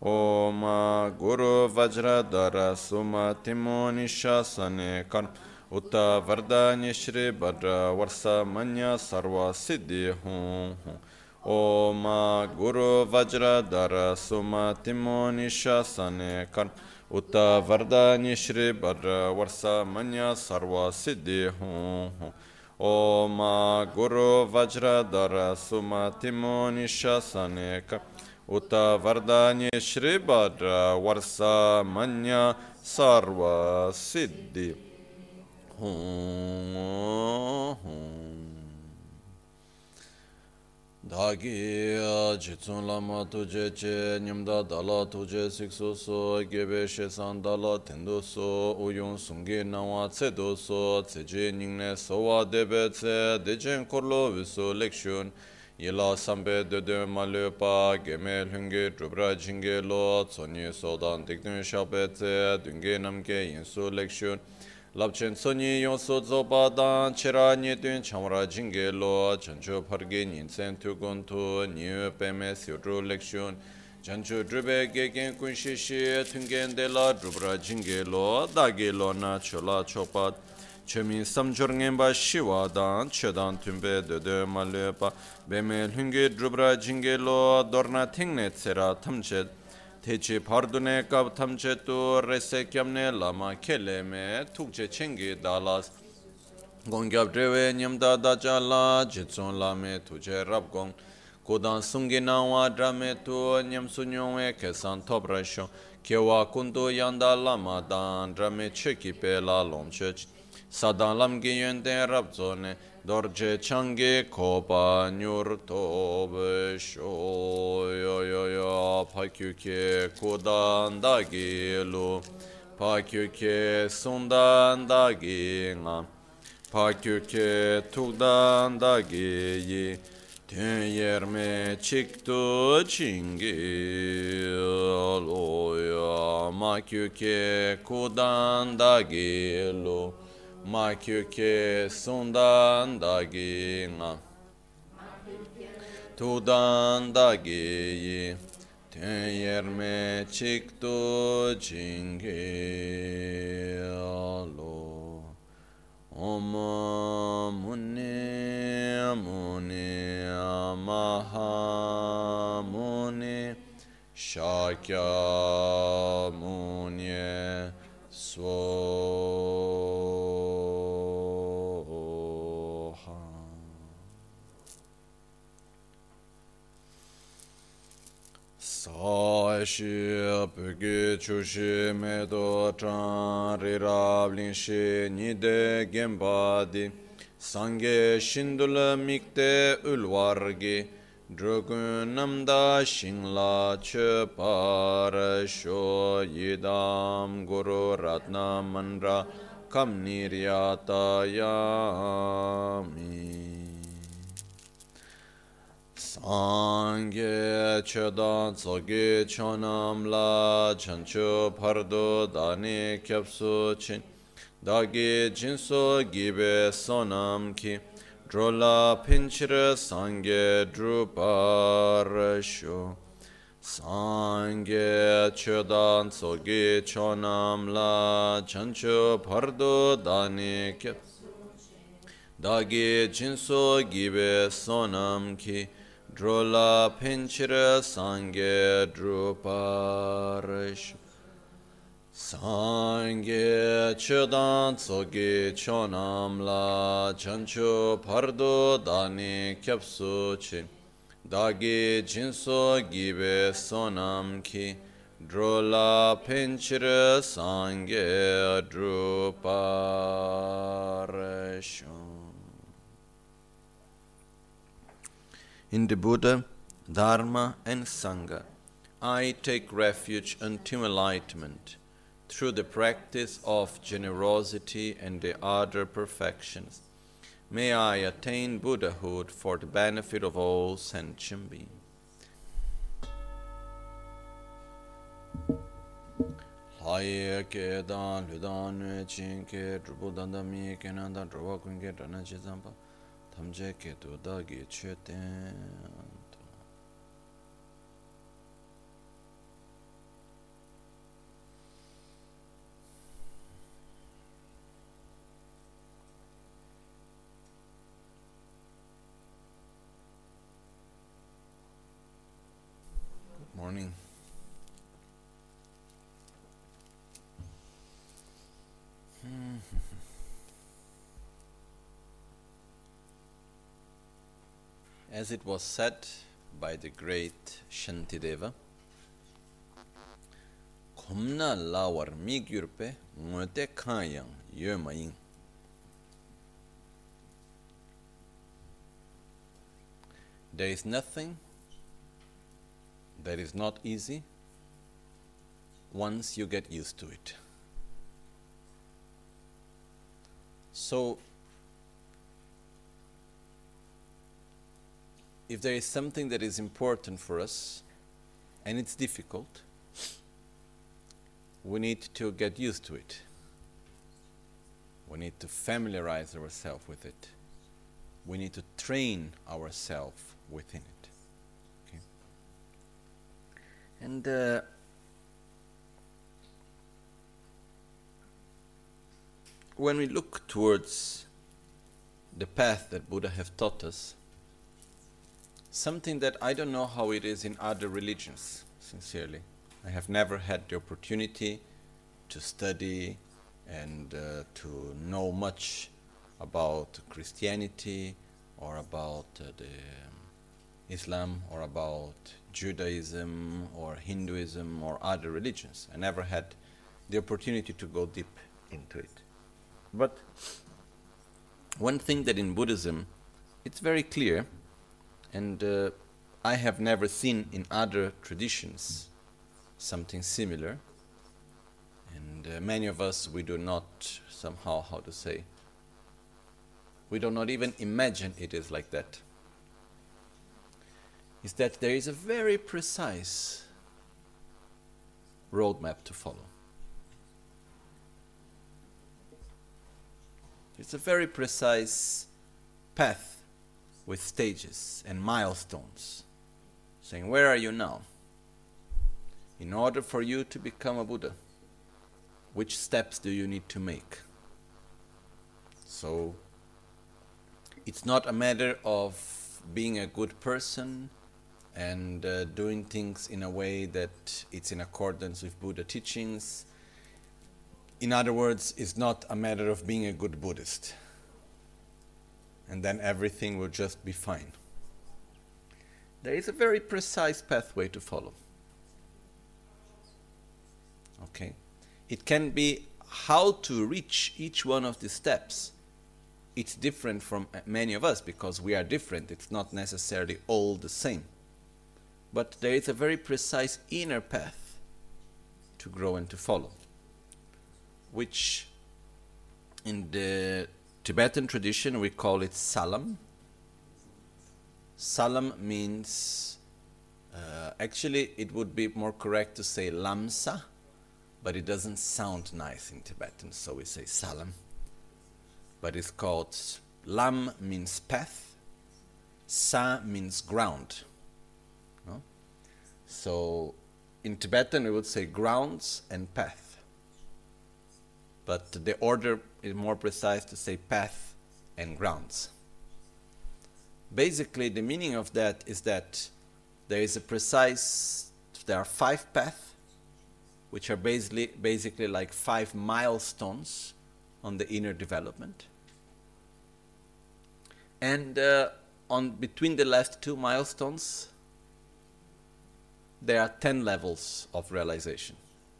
Om Guru Vajradhara Sumatimo Nishasane Karma Utta Vardhanya Shri Bhadra Varsa Manya Sarva Siddhi Hum Om Guru Vajradhara Sumatimo Nishasane Karma Utta Vardhanya Shri Bhadra Varsa Manya Sarva Siddhi Hum Om Guru Vajradhara Sumatimo Nishasane Karma Uta Vardhanya Shri Bhadra Varsa Manya Sarva Siddhi Dagi Jitsun Lama Tuje Che Nyamda Dala Tuje Siksu So Gebe Shesan Dala Tendo So Uyun Sungi Nawa Tsedo So Tseje Ningne Sowa Debe Tse Dejen Korlo Viso Lekshun Yila Sambe Dede Malupa Gemel Hungi Drubra Jinge Lo Tsonyi Sodan Dikdun Shabe Tse Dunge Namge Yinsu Lekshun Lapchen Sonyi Yonso Zobadan Chera Nyedun Chamra Jinge Lo Chancho Parge Ninsen Tugun Tu Nyu Peme Siodru Lekshun Chancho Drube Gegen Kunshishi Tungen De La Drubra Jinge Lo Dagi Lo Na Chola Chopat Chemin Samjorngemba Shiwa Dan Chedan Tumbe Dede Malepa Beme Hungi Drubra Jinge Lo Dorna Tingne Tsera Tamchet Techi Pardune Kab Tamchetu Rese Kyamne Lama Keleme Tukche Chengi Dalas Gongyab Drewe Nyamda Dajala Jitson Lame Tuje Rabgong Kodan Sungi Nawa Drame Tu Nyam Sunyongwe Kesan Tobrasho Kewa Kundu Yanda Lama Dan Drame Cheki Pela Lomchech Sadan Lamgi Yende Rabzone Dorje Changi Kopa Nyur Tobe Sho Yo Yo Yo Pakyuke Kodan Dagi Lu Pakyuke Sundan Dagi Nga Pakyuke Tugdan Dagi Yi Tön Yerme Çiktu Çingi Loya Makyuke Kodan Dagi Lu Makyuke Sundan Dagi Nga Tudan Dagi Tön Yerme Çiktu Çingi Lo Om Muni Muni Maha Muni Shakya Muni Svoha Sashi Pöge Chushi Medo Chan Rirab Linshi Nide Gembadi Sange Shindula Mikte Ulwargi Drugun Namda Shingla Parasho Yidam Guru Ratna Mandra Kamniryata Yami Sangye Chedan Tsoge Chonam La Chancho Pardo Dani Kyapsu Chin Dagi Jinso Gibe Sonam Ki Drola Pinchira Sangye Druparasho Sangye Chedan Tsoge Chonam La Chancho Pardo Dani Kyapsu Dagi Jinso Gibe Sonam Ki Drola Pinchira Sangye Druparish Sangye Chedan Tsogi Chonam La Chancho Pardo Dani Kyapsu Chin Dagi Jinso Gibe Sonam Ki Drola Pinchira Sangye Druparish. In the Buddha, Dharma and Sangha, I take refuge until enlightenment through the practice of generosity and the other perfections. May I attain Buddhahood for the benefit of all sentient beings. Haye ke dan ludan chin ke drubu dandami ke nanda druba kunge dana chizamba tamje ke to dagi cheten. As it was said by the great Shantideva, Khomna lawar mi gyurpe ngote khayang yomaying. There is nothing that is not easy once you get used to it. So, if there is something that is important for us and it's difficult, we need to get used to it. We need to familiarize ourselves with it. We need to train ourselves within it. Okay? And when we look towards the path that Buddha have taught us, something that I don't know how it is in other religions, sincerely. I have never had the opportunity to study and to know much about Christianity or about Islam or about Judaism or Hinduism or other religions. I never had the opportunity to go deep into it. But one thing that in Buddhism, it's very clear, and I have never seen in other traditions something similar, and many of us, we do not somehow, how to say, we do not even imagine it is like that, is that there is a very precise roadmap to follow. It's a very precise path with stages and milestones, saying, where are you now? In order for you to become a Buddha, which steps do you need to make? So, it's not a matter of being a good person and doing things in a way that it's in accordance with Buddha teachings. In other words, it's not a matter of being a good Buddhist, and then everything will just be fine. There is a very precise pathway to follow. Okay? It can be how to reach each one of the steps. It's different from many of us because we are different. It's not necessarily all the same. But there is a very precise inner path to grow and to follow, which in the Tibetan tradition we call it salam. Salam means, actually it would be more correct to say lamsa, but it doesn't sound nice in Tibetan, so we say salam. But it's called, lam means path, sa means ground. No? So in Tibetan we would say grounds and path. But the order is more precise to say path and grounds. Basically, the meaning of that is that there are 5 paths, which are basically like 5 milestones on the inner development. And between the last 2 milestones, there are 10 levels of realization.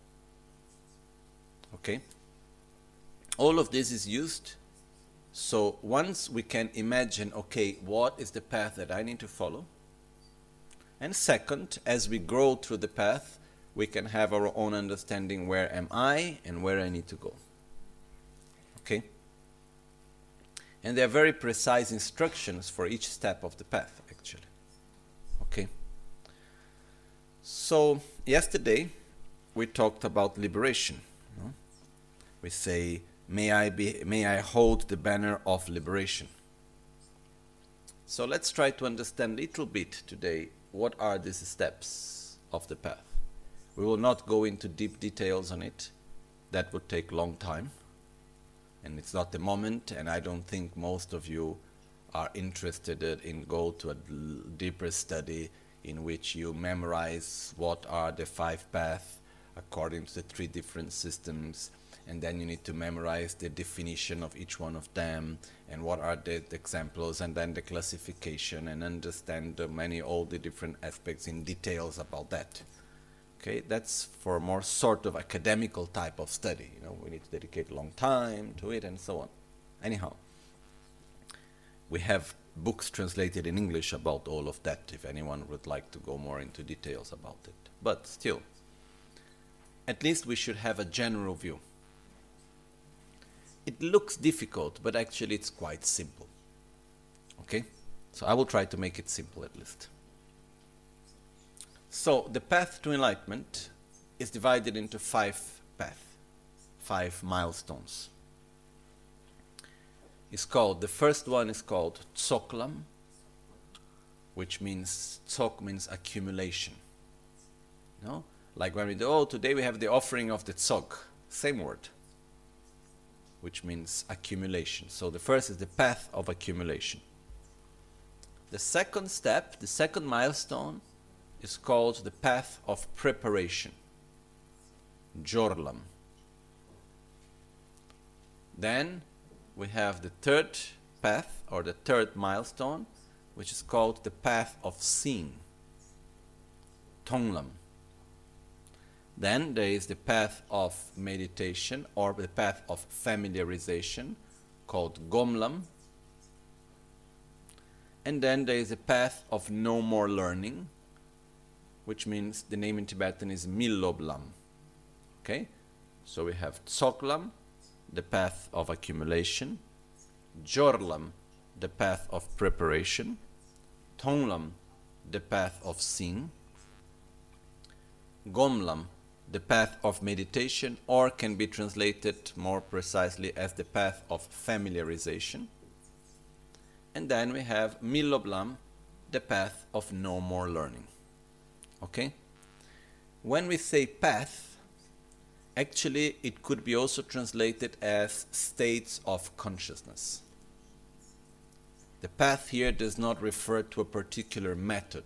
Okay? All of this is used, so once we can imagine, okay, what is the path that I need to follow? And second, as we grow through the path, we can have our own understanding, where am I and where I need to go. Okay? And there are very precise instructions for each step of the path, actually. Okay? So, yesterday, we talked about liberation. No? We say, may I hold the banner of liberation. So let's try to understand a little bit today what are these steps of the path. We will not go into deep details on it. That would take a long time. And it's not the moment, and I don't think most of you are interested in go to a deeper study in which you memorize what are the 5 paths according to the 3 different systems, and then you need to memorize the definition of each one of them, and what are the examples, and then the classification, and understand all the different aspects in details about that. Okay, that's for a more sort of academical type of study. You know, we need to dedicate a long time to it and so on. Anyhow, we have books translated in English about all of that if anyone would like to go more into details about it. But still, at least we should have a general view. It looks difficult, but actually it's quite simple. Okay? So I will try to make it simple at least. So the path to enlightenment is divided into 5 paths, 5 milestones. The first one is called Tsoklam, which means, Tsok means accumulation. No? Like when we do, oh, today we have the offering of the Tsok, same word, which means accumulation. So the first is the path of accumulation. The second step, the second milestone, is called the path of preparation, Jorlam. Then we have the third path, or the third milestone, which is called the path of seeing, Tonglam. Then there is the path of meditation, or the path of familiarization, called Gomlam. And then there is a path of no more learning, which means the name in Tibetan is Miloblam. Okay? So we have Tsoklam, the path of accumulation, Jorlam, the path of preparation, Tonglam, the path of seeing, Gomlam, the path of meditation, or can be translated more precisely as the path of familiarization. And then we have Miloblam, the path of no more learning. Okay? When we say path, actually it could be also translated as states of consciousness. The path here does not refer to a particular method.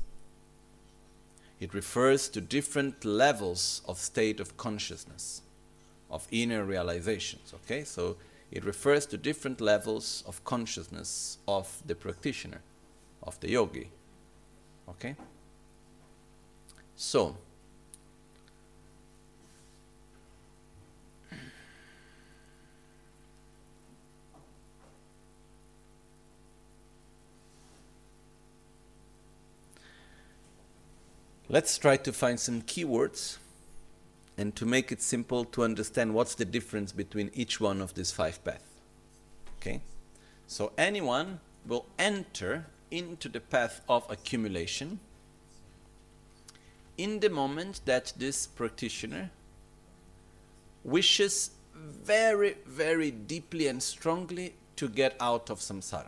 It refers to different levels of state of consciousness, of inner realizations. Okay? So it refers to different levels of consciousness of the practitioner, of the yogi. Okay? So, let's try to find some keywords and to make it simple to understand what's the difference between each one of these 5 paths. Okay? So anyone will enter into the path of accumulation in the moment that this practitioner wishes very, very deeply and strongly to get out of samsara,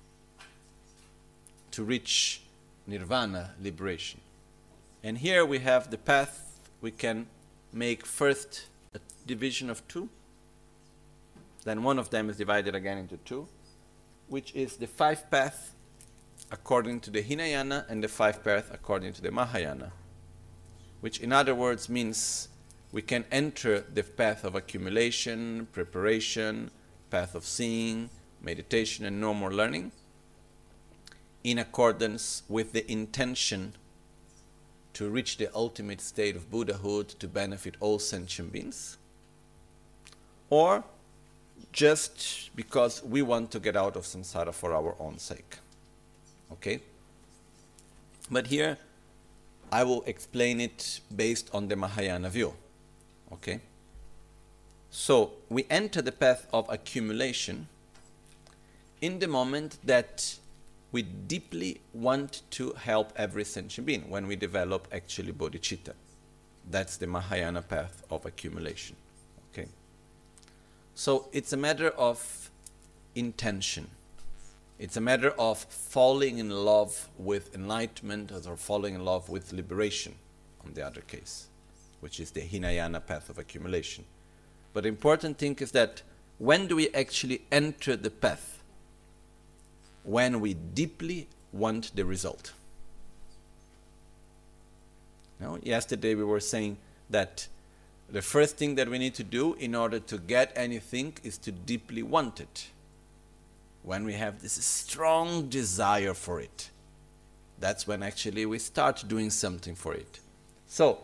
to reach nirvana, liberation. And here we have the path. We can make first a division of 2, then one of them is divided again into 2, which is the 5 path according to the Hinayana and the 5 path according to the Mahayana, which in other words means we can enter the path of accumulation, preparation, path of seeing, meditation, and no more learning in accordance with the intention to reach the ultimate state of Buddhahood to benefit all sentient beings, or just because we want to get out of samsara for our own sake. Okay? But here I will explain it based on the Mahayana view. Okay? So we enter the path of accumulation in the moment that we deeply want to help every sentient being, when we develop actually bodhicitta. That's the Mahayana path of accumulation. Okay? So it's a matter of intention. It's a matter of falling in love with enlightenment or falling in love with liberation, on the other case, which is the Hinayana path of accumulation. But the important thing is that when do we actually enter the path? When we deeply want the result. Now, yesterday we were saying that the first thing that we need to do in order to get anything is to deeply want it. When we have this strong desire for it, that's when actually we start doing something for it. So,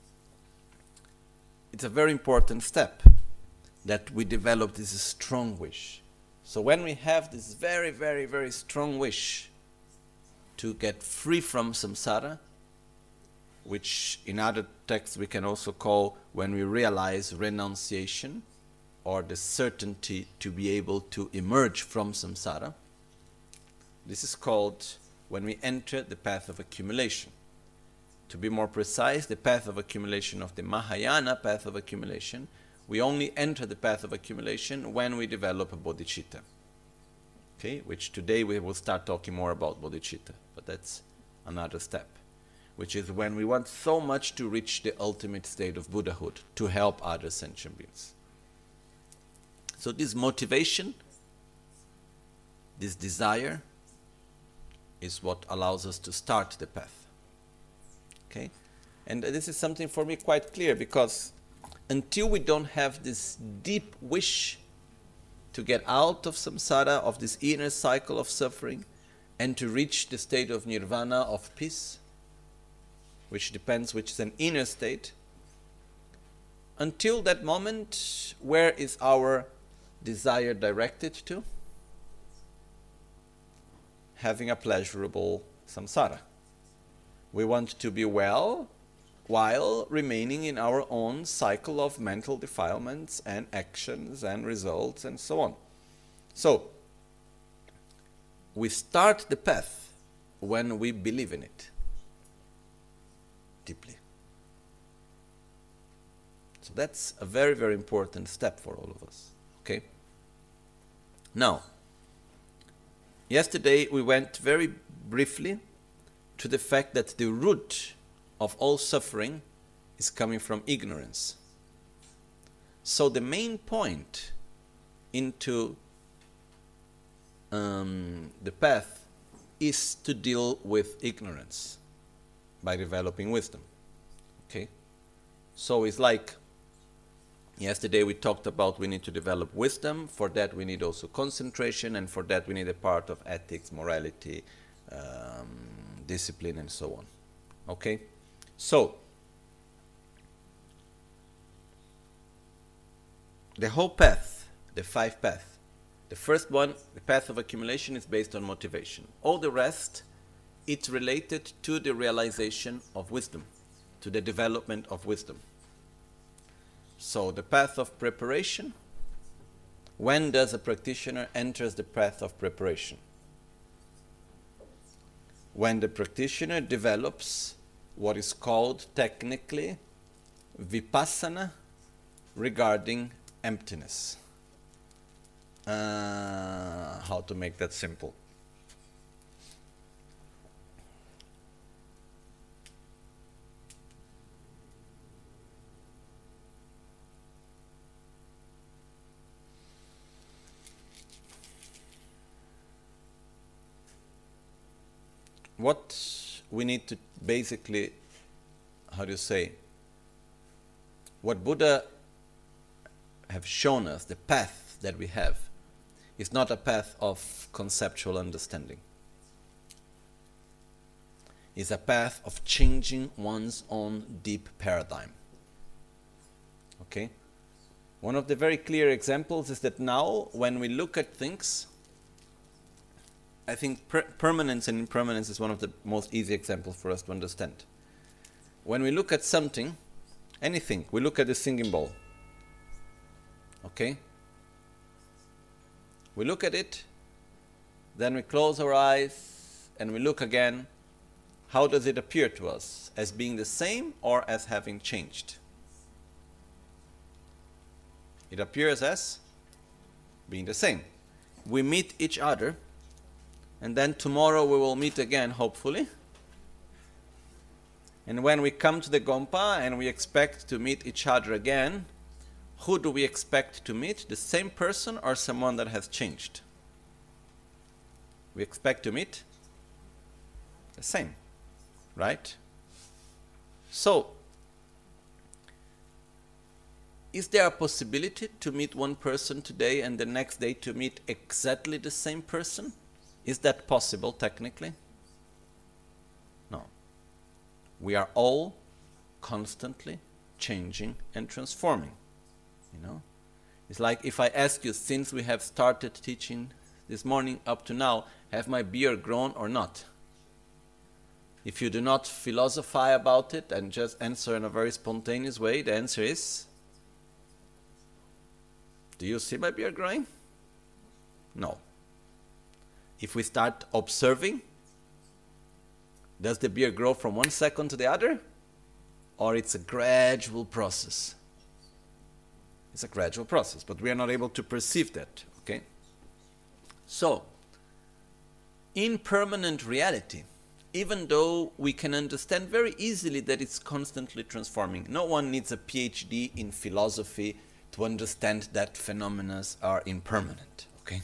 it's a very important step that we develop this strong wish. So when we have this very, very, very strong wish to get free from samsara, which in other texts we can also call, when we realize, renunciation, or the certainty to be able to emerge from samsara, this is called when we enter the path of accumulation. To be more precise, the path of accumulation of the Mahayana path of accumulation, we only enter the path of accumulation when we develop a bodhicitta. Okay, which today we will start talking more about bodhicitta, but that's another step, which is when we want so much to reach the ultimate state of Buddhahood, to help other sentient beings. So this motivation, this desire, is what allows us to start the path. Okay? And this is something for me quite clear, because until we don't have this deep wish to get out of samsara, of this inner cycle of suffering, and to reach the state of nirvana, of peace, which is an inner state, until that moment, where is our desire directed to? Having a pleasurable samsara. We want to be well while remaining in our own cycle of mental defilements and actions and results and so on. So, we start the path when we believe in it deeply. So that's a very, very important step for all of us. Okay? Now, yesterday we went very briefly to the fact that the root of all suffering is coming from ignorance. So the main point into the path is to deal with ignorance by developing wisdom. Okay? So it's like yesterday we talked about we need to develop wisdom. For that we need also concentration, and for that we need a part of ethics, morality, discipline, and so on. Okay? So, the whole path, the 5 paths, the first one, the path of accumulation, is based on motivation. All the rest, it's related to the realization of wisdom, to the development of wisdom. So, the path of preparation, when does a practitioner enter the path of preparation? When the practitioner develops what is called technically vipassana regarding emptiness. How to make that simple? What we need to basically, how do you say, what Buddha have shown us, the path that we have, is not a path of conceptual understanding. It's a path of changing one's own deep paradigm. Okay? One of the very clear examples is that now, when we look at things, I think permanence and impermanence is one of the most easy examples for us to understand. When we look at something, anything, we look at the singing bowl. Okay? We look at it, then we close our eyes, and we look again. How does it appear to us? As being the same or as having changed? It appears as being the same. We meet each other, and then tomorrow we will meet again, hopefully. And when we come to the Gompa and we expect to meet each other again, who do we expect to meet? The same person or someone that has changed? We expect to meet the same, right? So, is there a possibility to meet one person today and the next day to meet exactly the same person? Is that possible technically? No. We are all constantly changing and transforming. You know? It's like if I ask you, since we have started teaching this morning up to now, have my beard grown or not? If you do not philosophize about it and just answer in a very spontaneous way, the answer is, do you see my beard growing? No. If we start observing, does the beard grow from one second to the other? Or it's a gradual process? It's a gradual process, but we are not able to perceive that, okay? So, impermanent reality, even though we can understand very easily that it's constantly transforming. No one needs a PhD in philosophy to understand that phenomena are impermanent, okay?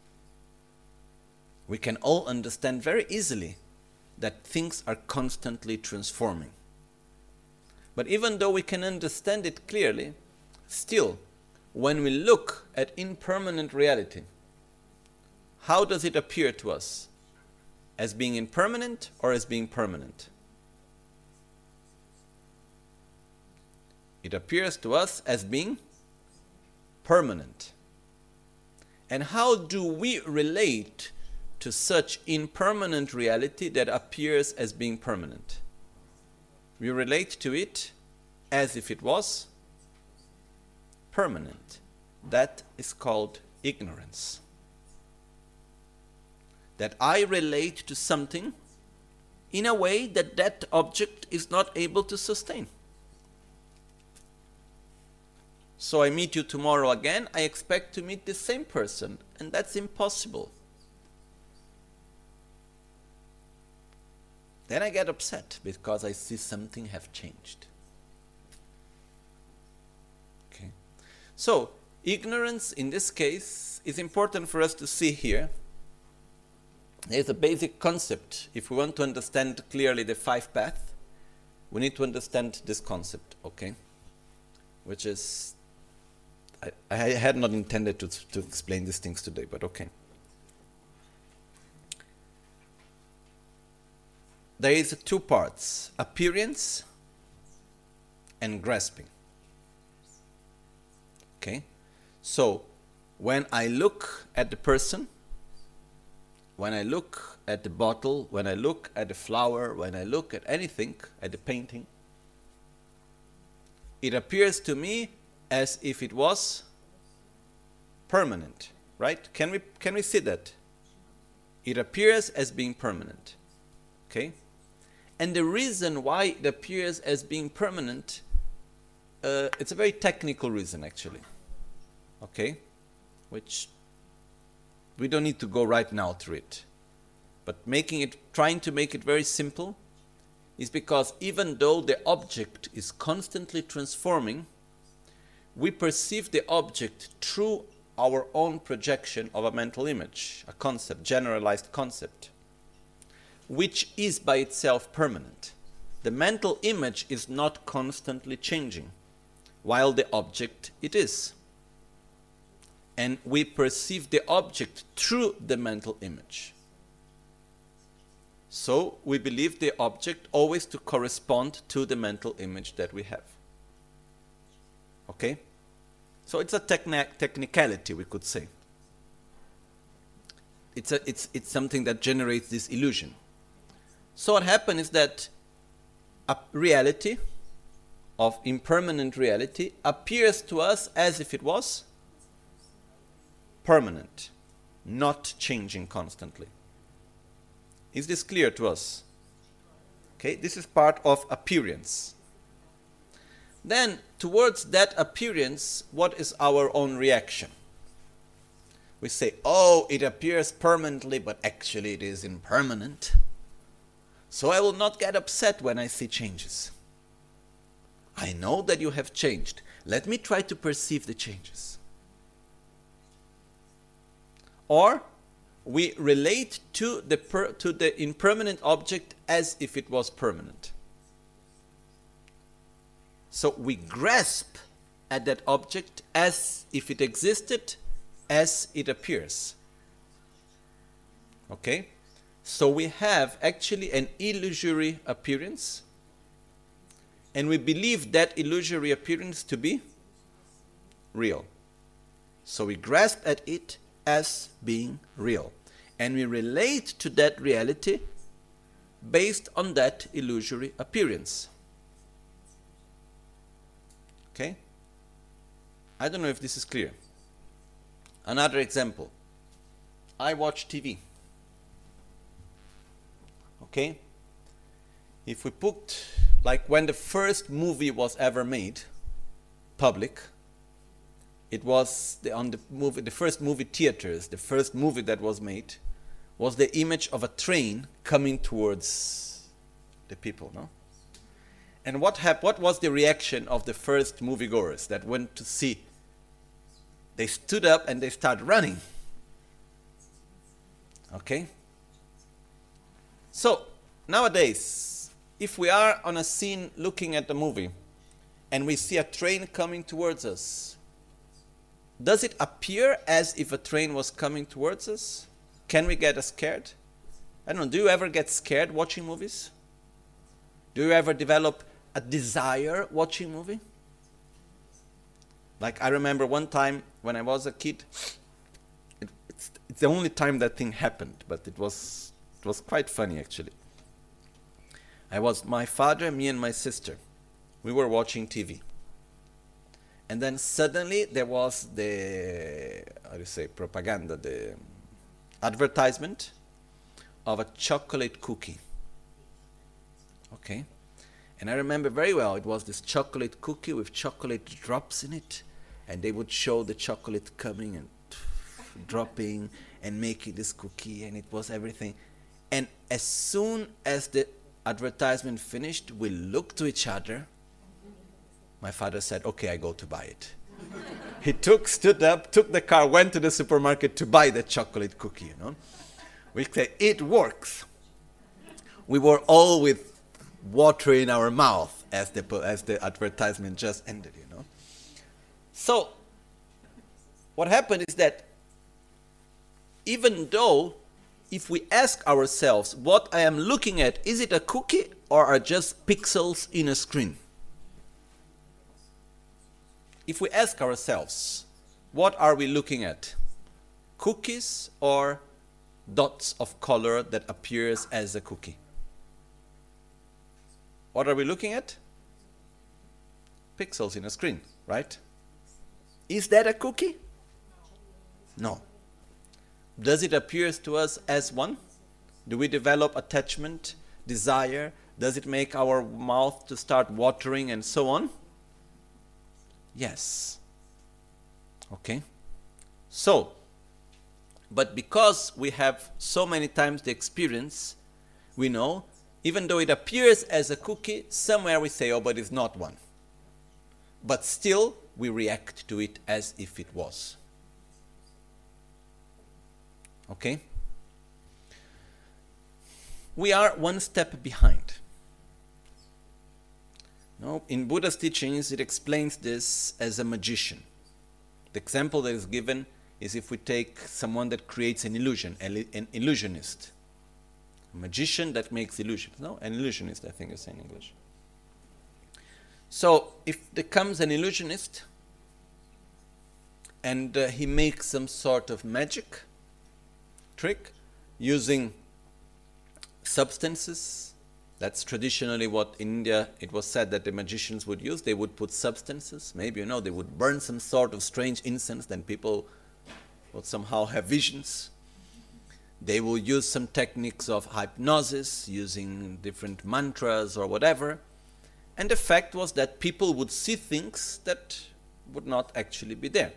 We can all understand very easily that things are constantly transforming. But even though we can understand it clearly, still, when we look at impermanent reality, how does it appear to us? As being impermanent or as being permanent? It appears to us as being permanent. And how do we relate to such impermanent reality that appears as being permanent? We relate to it as if it was permanent. That is called ignorance. That I relate to something in a way that that object is not able to sustain. So I meet you tomorrow again, I expect to meet the same person, and that's impossible. Then I get upset because I see something have changed. Okay. So, ignorance in this case is important for us to see here. There's a basic concept. If we want to understand clearly the five paths, we need to understand this concept, okay? Which is, I had not intended to explain these things today, but okay. There is two parts, appearance and grasping. Okay? So, when I look at the person, when I look at the bottle, when I look at the flower, when I look at anything, at the painting, it appears to me as if it was permanent, right? Can we see that? It appears as being permanent, okay? And the reason why it appears as being permanent, it's a very technical reason actually, okay? Which we don't need to go right now through it. But trying to make it very simple is because even though the object is constantly transforming, we perceive the object through our own projection of a mental image, a concept, generalized concept, which is by itself permanent. The mental image is not constantly changing, while the object it is. And we perceive the object through the mental image. So we believe the object always to correspond to the mental image that we have. Okay? So it's a technicality, we could say. It's something that generates this illusion. So what happens is that a reality of impermanent reality appears to us as if it was permanent, not changing constantly. Is this clear to us? Okay, this is part of appearance. Then, towards that appearance, what is our own reaction? We say, oh, it appears permanently, but actually it is impermanent. So I will not get upset when I see changes. I know that you have changed. Let me try to perceive the changes. Or we relate to the impermanent object as if it was permanent. So we grasp at that object as if it existed, as it appears. Okay? So we have actually an illusory appearance, and we believe that illusory appearance to be real. So we grasp at it as being real, and we relate to that reality based on that illusory appearance. Okay? I don't know if this is clear. Another example. I watch TV. Okay? If we put, like when the first movie was ever made, public, it was the first movie theaters, the first movie that was made, was the image of a train coming towards the people, no? And what was the reaction of the first moviegoers that went to see? They stood up and they started running. Okay? So, nowadays, if we are on a scene looking at the movie and we see a train coming towards us, does it appear as if a train was coming towards us? Can we get scared? I don't know, do you ever get scared watching movies? Do you ever develop a desire watching movie? Like I remember one time when I was a kid, it's the only time that thing happened, but it was quite funny actually. My father, me and my sister, we were watching TV. And then suddenly there was the, propaganda, the advertisement of a chocolate cookie. Okay? And I remember very well, it was this chocolate cookie with chocolate drops in it, and they would show the chocolate coming and dropping and making this cookie, and it was everything. And as soon as the advertisement finished, we looked to each other. My father said, okay, I go to buy it. He stood up, took the car, went to the supermarket to buy the chocolate cookie, you know. We say, it works. We were all with water in our mouth as the advertisement just ended, you know. So, what happened is that even though if we ask ourselves, what I am looking at, is it a cookie or are just pixels in a screen? If we ask ourselves, what are we looking at? Cookies or dots of color that appears as a cookie? What are we looking at? Pixels in a screen, right? Is that a cookie? No. Does it appear to us as one? Do we develop attachment, desire? Does it make our mouth to start watering and so on? Yes. Okay. So, but because we have so many times the experience, we know, even though it appears as a cookie, somewhere we say, oh, but it's not one. But still, we react to it as if it was. Okay? We are one step behind. No, in Buddha's teachings, it explains this as a magician. The example that is given is if we take someone that creates an illusion, an illusionist. A magician that makes illusions. No, an illusionist, I think you say in English. So, if there comes an illusionist and he makes some sort of magic trick using substances. That's traditionally what in India it was said that the magicians would use. They would put substances. Maybe, they would burn some sort of strange incense, then people would somehow have visions. They will use some techniques of hypnosis, using different mantras or whatever. And the fact was that people would see things that would not actually be there.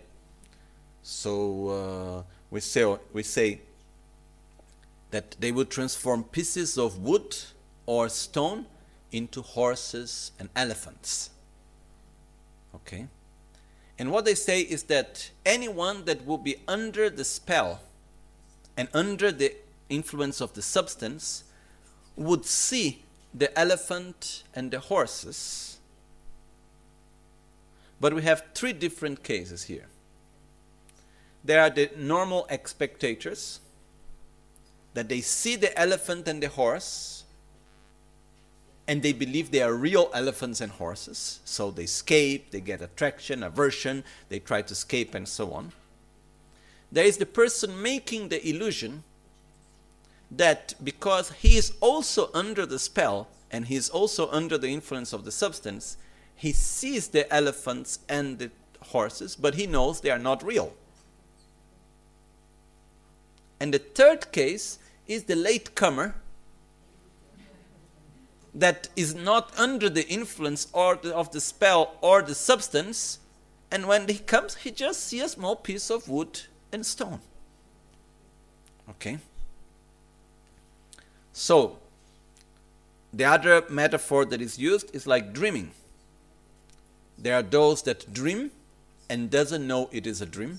So we say that they would transform pieces of wood or stone into horses and elephants. Okay? And what they say is that anyone that will be under the spell and under the influence of the substance would see the elephant and the horses, But we have three different cases here. There are the normal spectators, that they see the elephant and the horse, and they believe they are real elephants and horses, so they escape, they get attraction, aversion, they try to escape, and so on. There is the person making the illusion that because he is also under the spell, and he is also under the influence of the substance, he sees the elephants and the horses, but he knows they are not real. And the third case is the latecomer that is not under the influence of the spell or the substance, and when he comes, he just sees a small piece of wood and stone. Okay? So, the other metaphor that is used is like dreaming. There are those that dream and doesn't know it is a dream.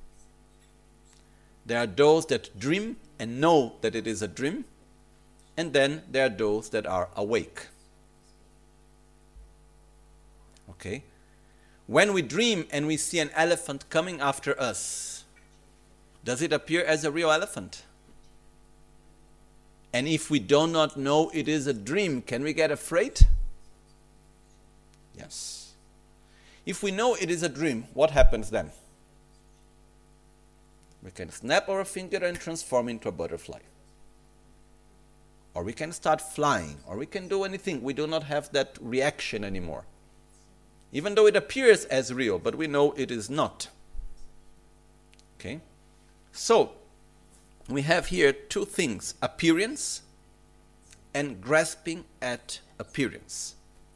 There are those that dream and know that it is a dream. And then there are those that are awake. Okay? When we dream and we see an elephant coming after us, does it appear as a real elephant? And if we do not know it is a dream, can we get afraid? Yes. If we know it is a dream, what happens then? We can snap our finger and transform into a butterfly. Or we can start flying, or we can do anything. We do not have that reaction anymore. Even though it appears as real, but we know it is not. Okay? So, we have here two things, appearance and grasping at appearance.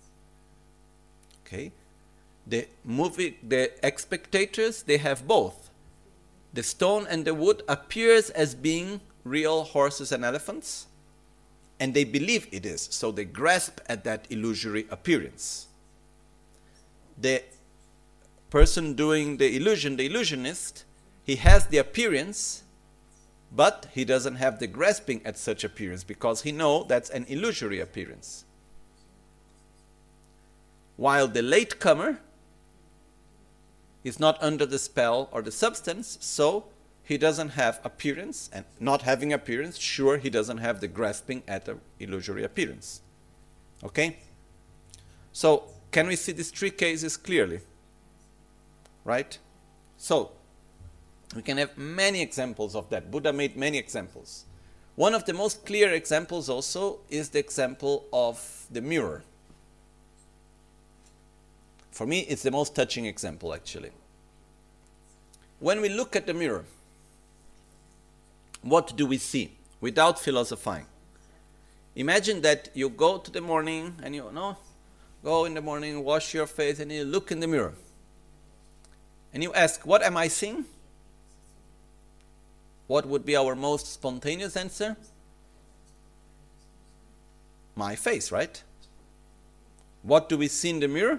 Okay? The spectators, they have both. The stone and the wood appears as being real horses and elephants, and they believe it is, so they grasp at that illusory appearance. The person doing the illusion, the illusionist, he has the appearance, but he doesn't have the grasping at such appearance because he knows that's an illusory appearance. While the latecomer is not under the spell or the substance, so he doesn't have appearance, and not having appearance, sure, he doesn't have the grasping at the illusory appearance. Okay? So, can we see these three cases clearly? Right? So, we can have many examples of that. Buddha made many examples. One of the most clear examples also is the example of the mirror. For me, it's the most touching example, actually. When we look at the mirror, what do we see? Without philosophizing. Imagine that you go to the morning and go in the morning, wash your face, and you look in the mirror. And you ask, what am I seeing? What would be our most spontaneous answer? My face, right? What do we see in the mirror?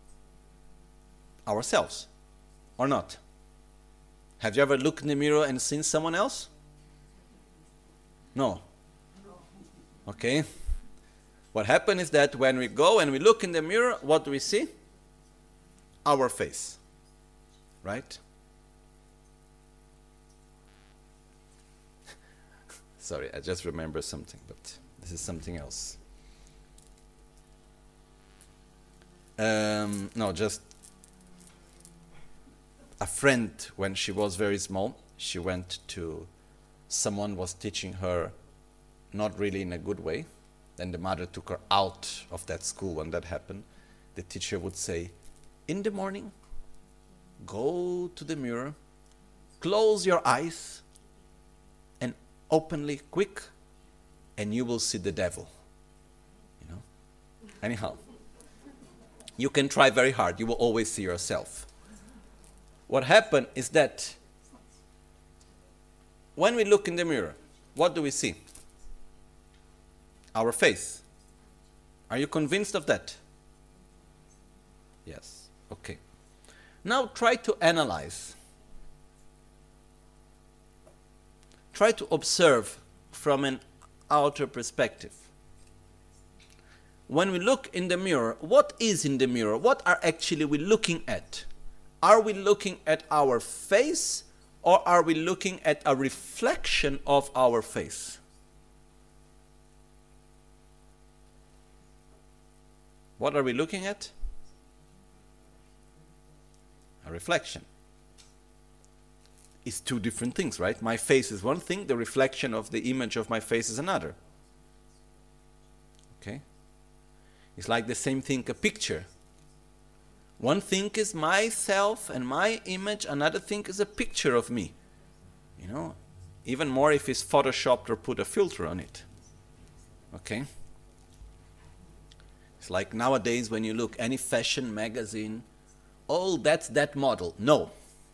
Ourselves, or not? Have you ever looked in the mirror and seen someone else? No. Okay. What happens is that when we go and we look in the mirror, what do we see? Our face. Right? Sorry, I just remembered something, but this is something else. No, just a friend, when she was very small, she went to, someone was teaching her not really in a good way. Then the mother took her out of that school when that happened. The teacher would say, in the morning, go to the mirror, close your eyes, and openly, quick, and you will see the devil. You know? Anyhow, you can try very hard. You will always see yourself. What happened is that when we look in the mirror, what do we see? Our face. Are you convinced of that? Yes. Okay. Now try to analyze. Try to observe from an outer perspective. when we look in the mirror, what is in the mirror? What are actually we looking at? Are we looking at our face, or are we looking at a reflection of our face? What are we looking at? A reflection. It's two different things, right? My face is one thing, the reflection of the image of my face is another. Okay? It's like the same thing, a picture. One thing is myself and my image, another thing is a picture of me. You know, even more if it's photoshopped or put a filter on it. Okay? It's like nowadays when you look any fashion magazine, oh, that's that model. No.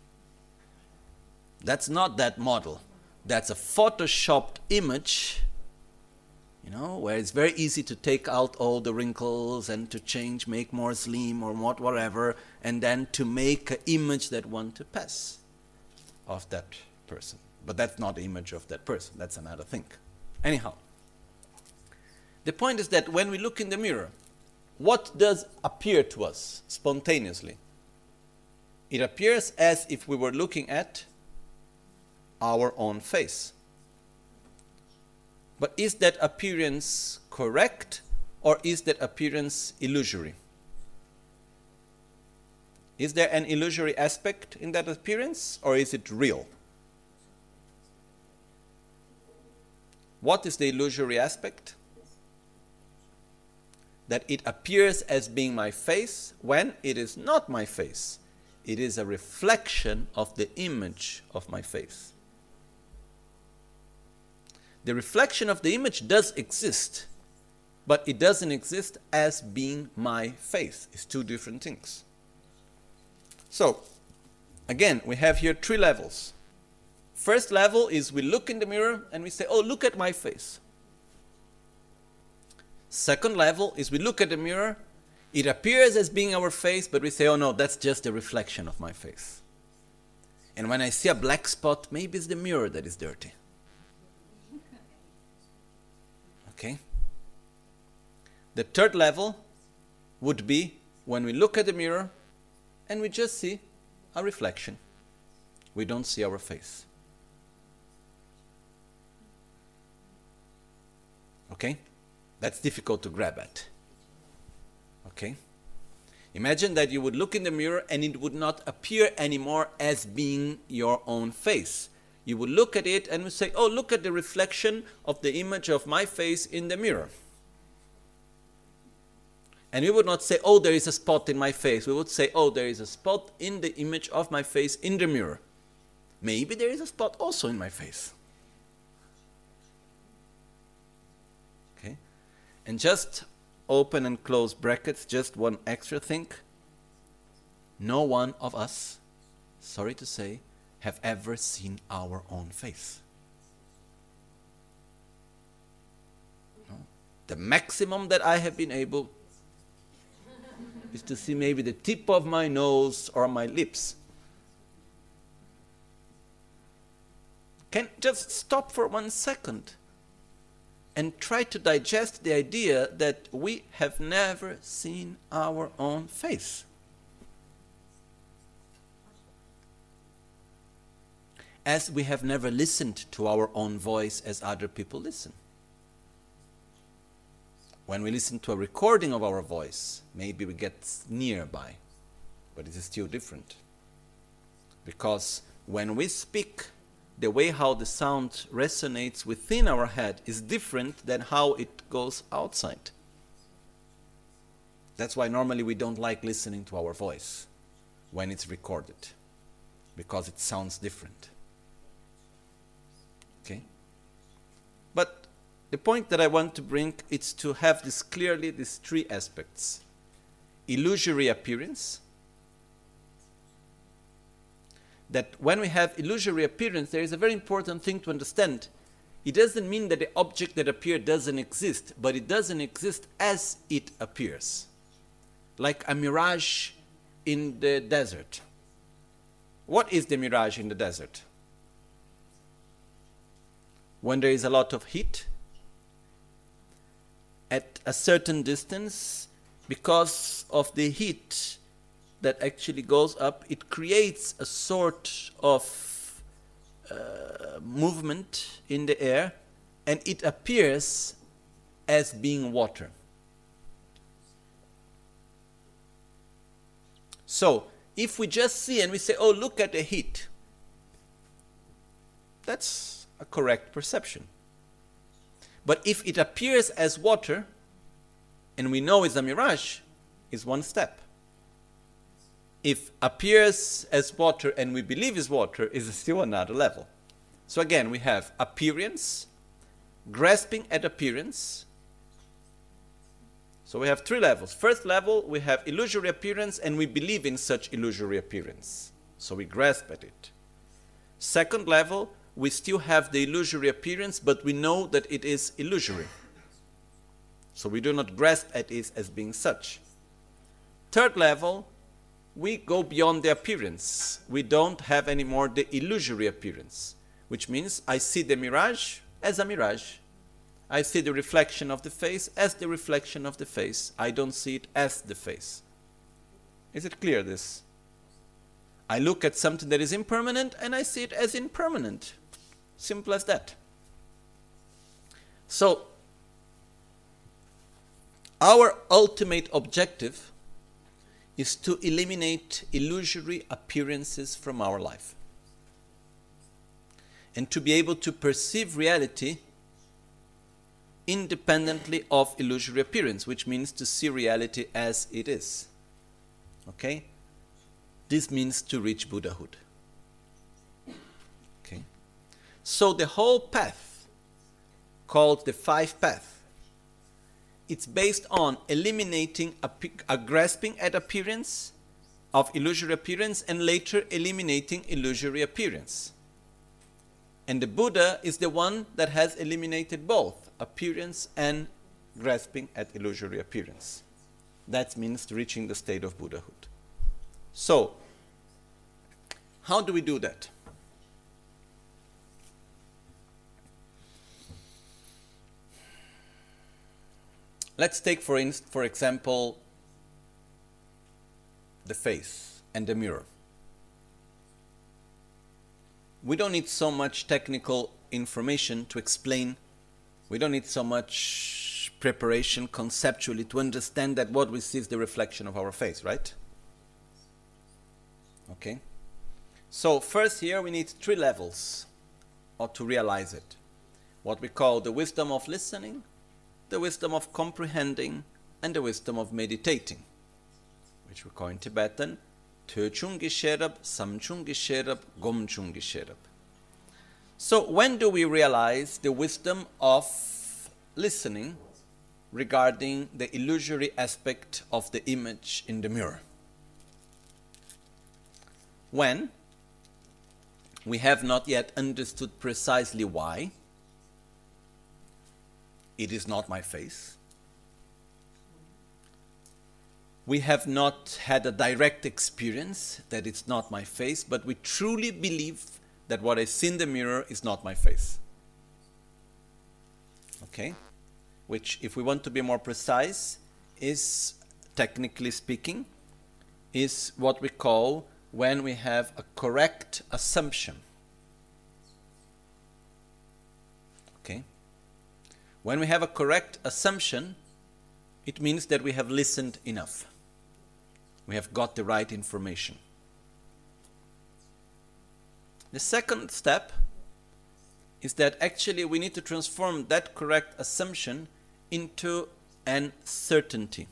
That's not that model. That's a photoshopped image, you know, where it's very easy to take out all the wrinkles and to change, make more slim or whatever, and then to make an image that want to pass of that person. But that's not the image of that person. That's another thing. Anyhow, the point is that when we look in the mirror, what does appear to us spontaneously? It appears as if we were looking at our own face. But is that appearance correct, or is that appearance illusory? Is there an illusory aspect in that appearance, or is it real? What is the illusory aspect? That it appears as being my face when it is not my face. It is a reflection of the image of my face. The reflection of the image does exist, but it doesn't exist as being my face. It's two different things. So, again, we have here three levels. First level is we look in the mirror and we say, oh, look at my face. Second level is we look at the mirror, it appears as being our face, but we say, oh no, that's just a reflection of my face. And when I see a black spot, maybe it's the mirror that is dirty. Okay? The third level would be when we look at the mirror and we just see a reflection. We don't see our face. Okay? That's difficult to grab at. Okay? Imagine that you would look in the mirror and it would not appear anymore as being your own face. You would look at it and would say, oh, look at the reflection of the image of my face in the mirror. And we would not say, oh, there is a spot in my face. We would say, oh, there is a spot in the image of my face in the mirror. Maybe there is a spot also in my face. Okay? And just open and close brackets, just one extra thing. No one of us, sorry to say, have ever seen our own face. No? The maximum that I have been able is to see maybe the tip of my nose or my lips. Can just stop for 1 second and try to digest the idea that we have never seen our own face. As we have never listened to our own voice as other people listen. When we listen to a recording of our voice, maybe we get nearby, but it is still different. Because when we speak, the way how the sound resonates within our head is different than how it goes outside. That's why normally we don't like listening to our voice when it's recorded, because it sounds different. Okay? But the point that I want to bring is to have this clearly, these three aspects. Illusory appearance. That when we have illusory appearance, there is a very important thing to understand. It doesn't mean that the object that appears doesn't exist, but it doesn't exist as it appears. Like a mirage in the desert. What is the mirage in the desert? When there is a lot of heat at a certain distance, because of the heat that actually goes up, it creates a sort of movement in the air, and it appears as being water. So, if we just see and we say, oh, look at the heat, that's a correct perception. But if it appears as water, and we know it's a mirage, is one step. If appears as water and we believe is water, is still another level. So again, we have appearance, grasping at appearance. So we have three levels. First level, we have illusory appearance and we believe in such illusory appearance. So we grasp at it. Second level, we still have the illusory appearance, but we know that it is illusory. So we do not grasp at it as being such. Third level, we go beyond the appearance. We don't have anymore the illusory appearance, which means I see the mirage as a mirage. I see the reflection of the face as the reflection of the face. I don't see it as the face. Is it clear, this? I look at something that is impermanent and I see it as impermanent. Simple as that. So, our ultimate objective is to eliminate illusory appearances from our life and to be able to perceive reality independently of illusory appearance, which means to see reality as it is. Okay? This means to reach Buddhahood. Okay? So the whole path, called the Five Path, it's based on eliminating a grasping at appearance of illusory appearance and later eliminating illusory appearance. And the Buddha is the one that has eliminated both appearance and grasping at illusory appearance. That means reaching the state of Buddhahood. So, how do we do that? Let's take, for example, the face and the mirror. We don't need so much technical information to explain. We don't need so much preparation conceptually to understand that what we see is the reflection of our face, right? Okay. So first here we need three levels to realize it. What we call the wisdom of listening, the wisdom of comprehending, and the wisdom of meditating, which we call in Tibetan Töchungi Sherab, Samchungi Sherab, Gomchungi Sherab. So when do we realize the wisdom of listening regarding the illusory aspect of the image in the mirror? When we have not yet understood precisely why it is not my face. We have not had a direct experience that it's not my face, but we truly believe that what I see in the mirror is not my face. Okay? Which, if we want to be more precise, is, technically speaking, is what we call when we have a correct assumption. Okay? When we have a correct assumption, it means that we have listened enough. We have got the right information. The second step is that actually we need to transform that correct assumption into an certainty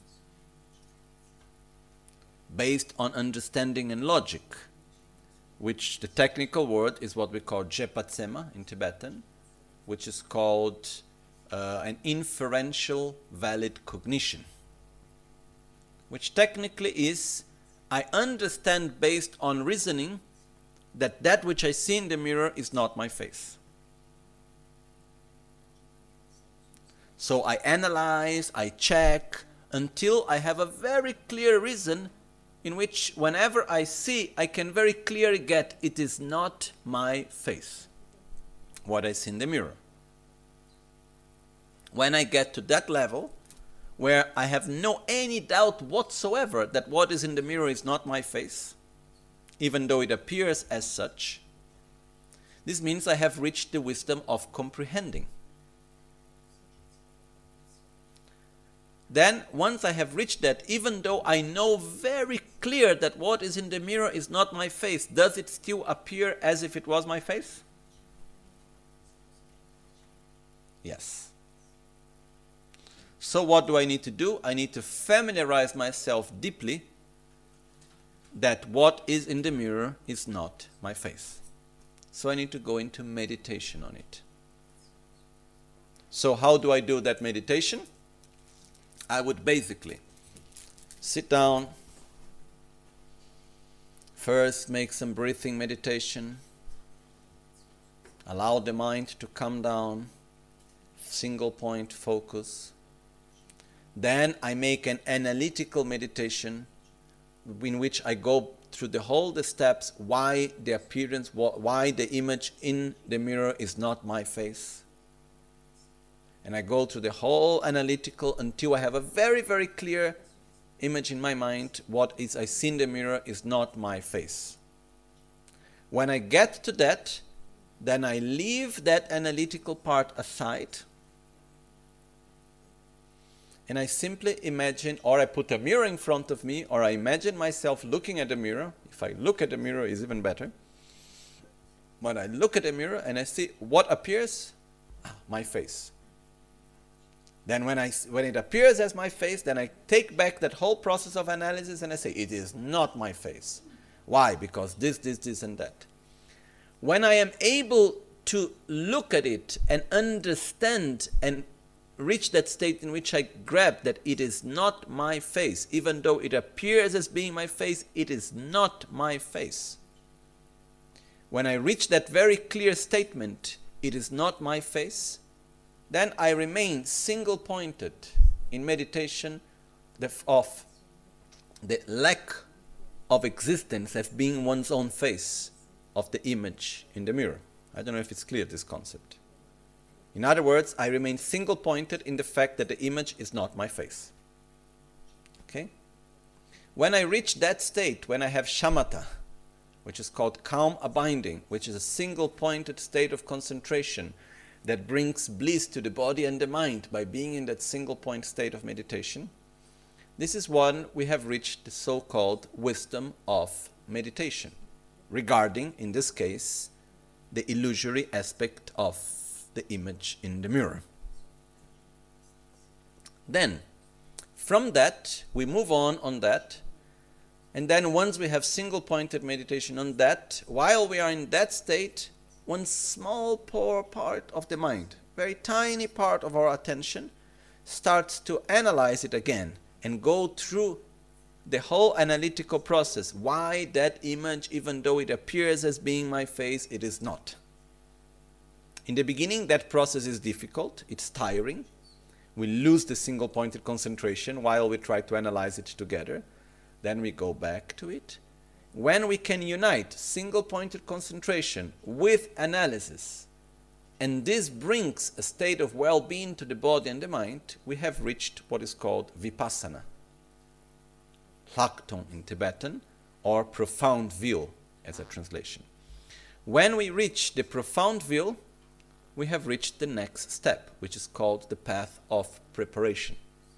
based on understanding and logic, which the technical word is what we call Jepatsema in Tibetan, which is called an inferential valid cognition, which technically is I understand based on reasoning that that which I see in the mirror is not my face. So I analyze, I check, until I have a very clear reason in which whenever I see, I can very clearly get it is not my face, what I see in the mirror. When I get to that level, where I have no any doubt whatsoever that what is in the mirror is not my face, even though it appears as such, this means I have reached the wisdom of comprehending. Then, once I have reached that, even though I know very clear that what is in the mirror is not my face, does it still appear as if it was my face? Yes. So what do I need to do? I need to familiarize myself deeply that what is in the mirror is not my face. So I need to go into meditation on it. So how do I do that meditation? I would basically sit down, first make some breathing meditation, allow the mind to come down, single point focus. Then I make an analytical meditation in which I go through the steps why the appearance, why the image in the mirror is not my face. And I go through the whole analytical until I have a very, very clear image in my mind. What is I see in the mirror is not my face. When I get to that, then I leave that analytical part aside. And I simply imagine, or I put a mirror in front of me, or I imagine myself looking at the mirror. If I look at the mirror, it's even better. When I look at the mirror and I see what appears, my face. Then when it appears as my face, then I take back that whole process of analysis and I say, it is not my face. Why? Because this and that. When I am able to look at it and understand and reach that state in which I grab that it is not my face, even though it appears as being my face, it is not my face. When I reach that very clear statement, it is not my face, then I remain single-pointed in meditation of the lack of existence as being one's own face of the image in the mirror. I don't know if it's clear, this concept. In other words, I remain single-pointed in the fact that the image is not my face. Okay? When I reach that state, when I have shamatha, which is called calm abiding, which is a single-pointed state of concentration, that brings bliss to the body and the mind by being in that single point state of meditation. This is when we have reached the so-called wisdom of meditation, regarding, in this case, the illusory aspect of the image in the mirror. Then, from that, we move on that, and then once we have single-pointed meditation on that, while we are in that state, one small poor part of the mind, very tiny part of our attention, starts to analyze it again and go through the whole analytical process. Why that image, even though it appears as being my face, it is not. In the beginning, that process is difficult, it's tiring. We lose the single-pointed concentration while we try to analyze it together. Then we go back to it. When we can unite single-pointed concentration with analysis, and this brings a state of well-being to the body and the mind, we have reached what is called vipassana, lakton in Tibetan, or profound view as a translation. When we reach the profound view, we have reached the next step, which is called the path of preparation.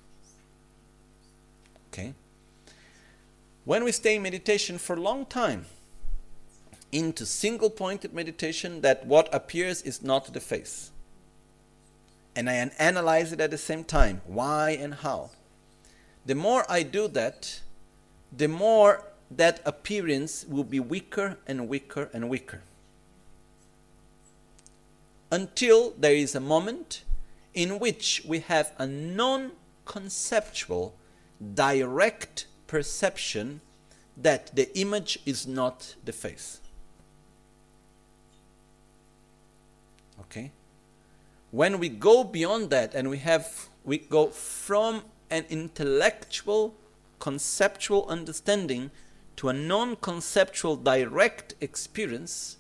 Okay? When we stay in meditation for a long time, into single-pointed meditation, that what appears is not the face, and I analyze it at the same time, why and how. The more I do that, the more that appearance will be weaker and weaker and weaker, until there is a moment in which we have a non-conceptual, direct perception that the image is not the face. Okay? When we go beyond that and we go from an intellectual, conceptual understanding to a non-conceptual direct experience,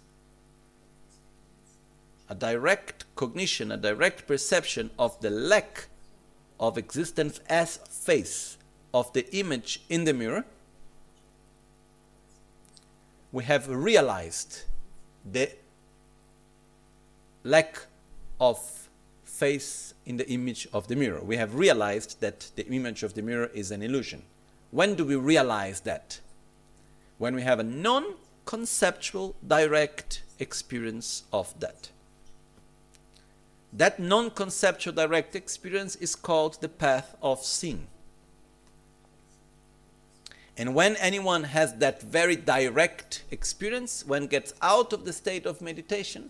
a direct cognition, a direct perception of the lack of existence as face of the image in the mirror, we have realized the lack of face in the image of the mirror. We have realized that the image of the mirror is an illusion. When do we realize that? When we have a non-conceptual direct experience of that. That non-conceptual direct experience is called the path of seeing. And when anyone has that very direct experience, when gets out of the state of meditation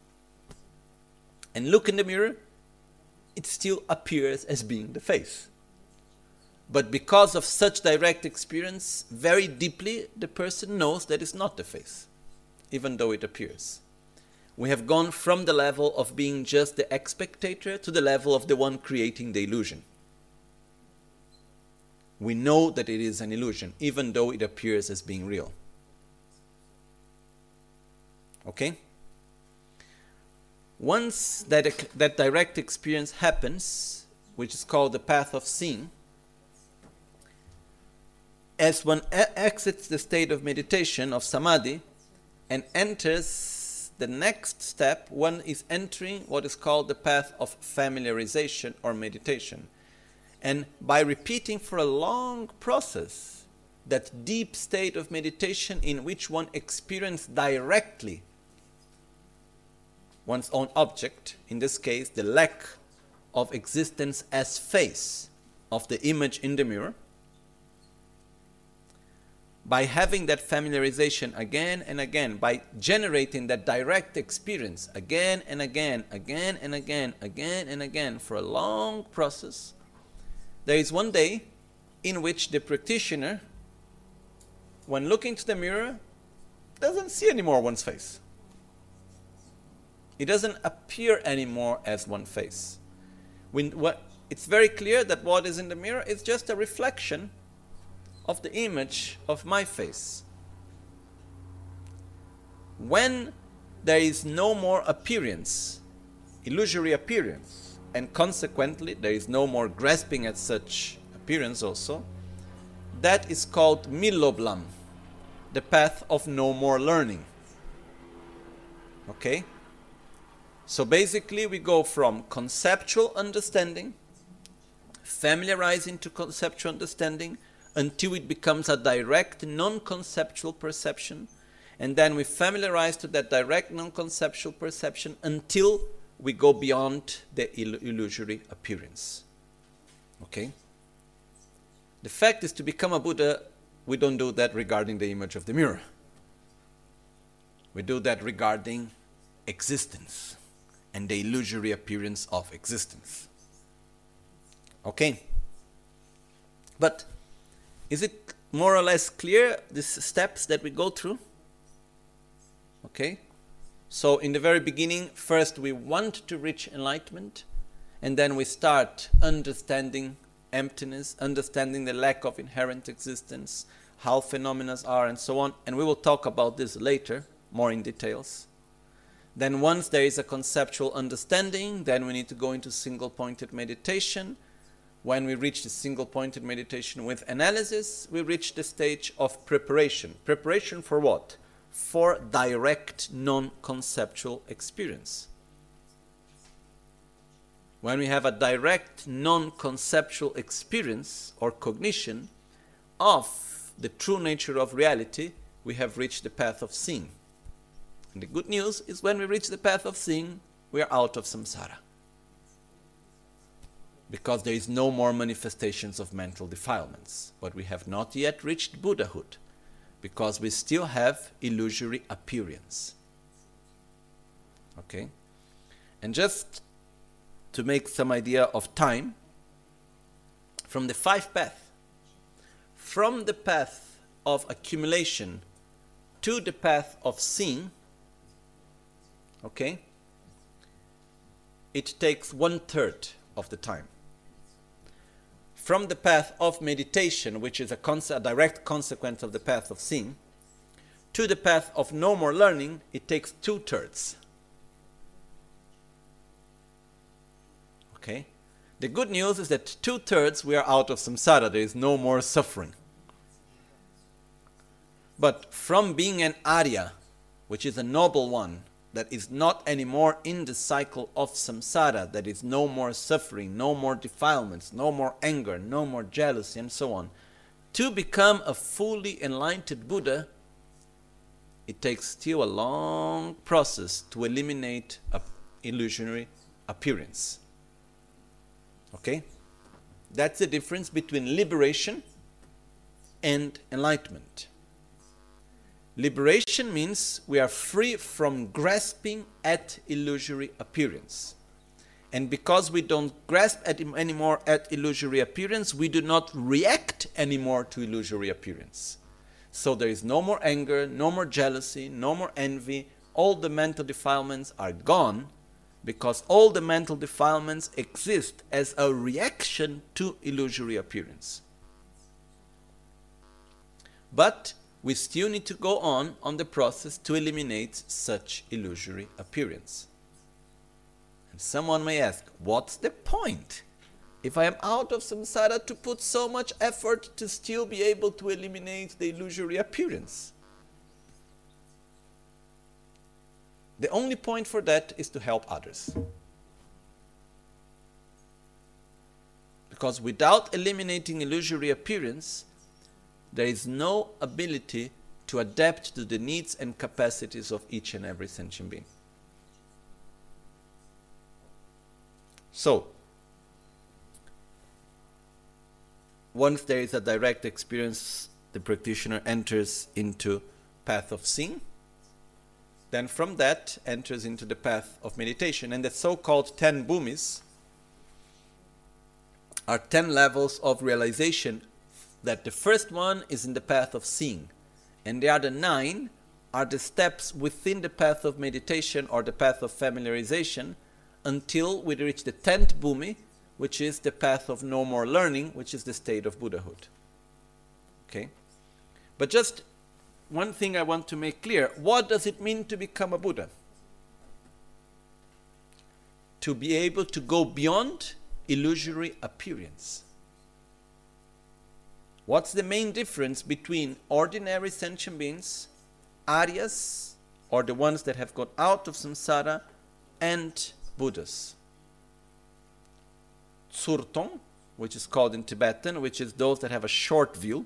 and look in the mirror, it still appears as being the face. But because of such direct experience, very deeply the person knows that it's not the face, even though it appears. We have gone from the level of being just the spectator to the level of the one creating the illusion. We know that it is an illusion, even though it appears as being real. Okay? Once that direct experience happens, which is called the path of seeing, as one exits the state of meditation, of samadhi, and enters the next step, one is entering what is called the path of familiarization or meditation. And by repeating for a long process, that deep state of meditation in which one experiences directly one's own object, in this case, the lack of existence as face of the image in the mirror, by having that familiarization again and again, by generating that direct experience again and again, again and again, again and again for a long process, there is one day in which the practitioner, when looking to the mirror, doesn't see anymore one's face. It doesn't appear anymore as one face. It's very clear that what is in the mirror is just a reflection of the image of my face. When there is no more appearance, illusory appearance, and consequently there is no more grasping at such appearance also, that is called Miloblam, the path of no more learning. Okay? So basically we go from conceptual understanding, familiarizing to conceptual understanding, until it becomes a direct non-conceptual perception, and then we familiarize to that direct non-conceptual perception until we go beyond the illusory appearance. Okay? The fact is, to become a Buddha, we don't do that regarding the image of the mirror. We do that regarding existence and the illusory appearance of existence. Okay? But is it more or less clear, these steps that we go through? Okay? So in the very beginning, first we want to reach enlightenment, and then we start understanding emptiness, understanding the lack of inherent existence, how phenomena are, and so on. And we will talk about this later, more in details. Then once there is a conceptual understanding, then we need to go into single-pointed meditation. When we reach the single-pointed meditation with analysis, we reach the stage of preparation. Preparation for what? For direct non-conceptual experience. When we have a direct non-conceptual experience or cognition of the true nature of reality, we have reached the path of seeing. And the good news is, when we reach the path of seeing, we are out of samsara. Because there is no more manifestations of mental defilements. But we have not yet reached Buddhahood, because we still have illusory appearance. Okay? And just to make some idea of time, from the five paths, from the path of accumulation to the path of seeing, okay, it takes 1/3 of the time. From the path of meditation, which is a direct consequence of the path of seeing, to the path of no more learning, it takes 2/3. Okay? The good news is that 2/3 we are out of samsara. There is no more suffering. But from being an Arya, which is a noble one, that is not anymore in the cycle of samsara, that is no more suffering, no more defilements, no more anger, no more jealousy, and so on, to become a fully enlightened Buddha, it takes still a long process to eliminate an illusionary appearance. Okay? That's the difference between liberation and enlightenment. Liberation means we are free from grasping at illusory appearance. And because we don't grasp anymore at illusory appearance, we do not react anymore to illusory appearance. So there is no more anger, no more jealousy, no more envy. All the mental defilements are gone, because all the mental defilements exist as a reaction to illusory appearance. But we still need to go on the process to eliminate such illusory appearance. And someone may ask, what's the point? If I am out of samsara, to put so much effort to still be able to eliminate the illusory appearance? The only point for that is to help others. Because without eliminating illusory appearance, there is no ability to adapt to the needs and capacities of each and every sentient being. So, once there is a direct experience, the practitioner enters into path of seeing. Then from that enters into the path of meditation. And the so-called 10 bhumis are 10 levels of realization, that the first one is in the path of seeing. And the other 9 are the steps within the path of meditation or the path of familiarization, until we reach the 10th bhumi, which is the path of no more learning, which is the state of Buddhahood. Okay? But just one thing I want to make clear: what does it mean to become a Buddha? To be able to go beyond illusory appearance. What's the main difference between ordinary sentient beings, Aryas, or the ones that have got out of samsara, and Buddhas? Tsurtong, which is called in Tibetan, which is those that have a short view,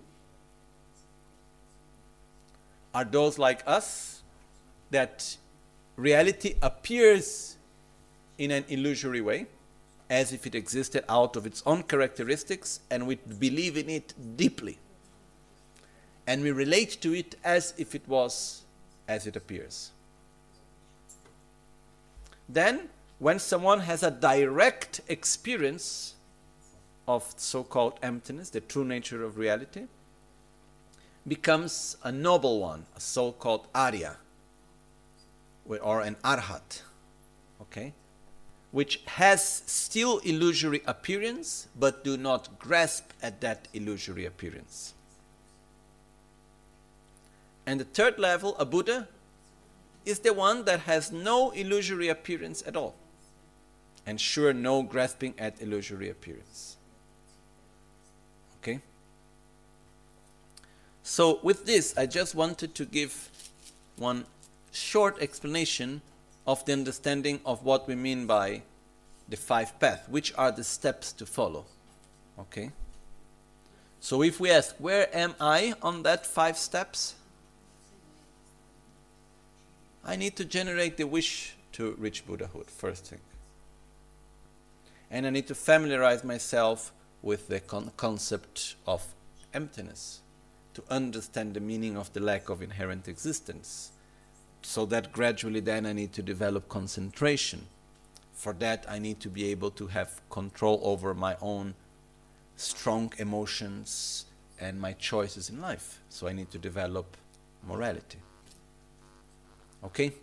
are those like us, that reality appears in an illusory way, as if it existed out of its own characteristics, and we believe in it deeply. And we relate to it as if it was as it appears. Then, when someone has a direct experience of so-called emptiness, the true nature of reality, becomes a noble one, a so-called Arya, or an Arhat, okay, which has still illusory appearance, but do not grasp at that illusory appearance. And the third level, a Buddha, is the one that has no illusory appearance at all, and sure, no grasping at illusory appearance. Okay? So with this, I just wanted to give one short explanation of the understanding of what we mean by the 5 paths, which are the steps to follow. Okay? So if we ask, where am I on that 5 steps? I need to generate the wish to reach Buddhahood, first thing. And I need to familiarize myself with the concept of emptiness, to understand the meaning of the lack of inherent existence. So that gradually then I need to develop concentration. For that I need to be able to have control over my own strong emotions and my choices in life. So I need to develop morality. Okay?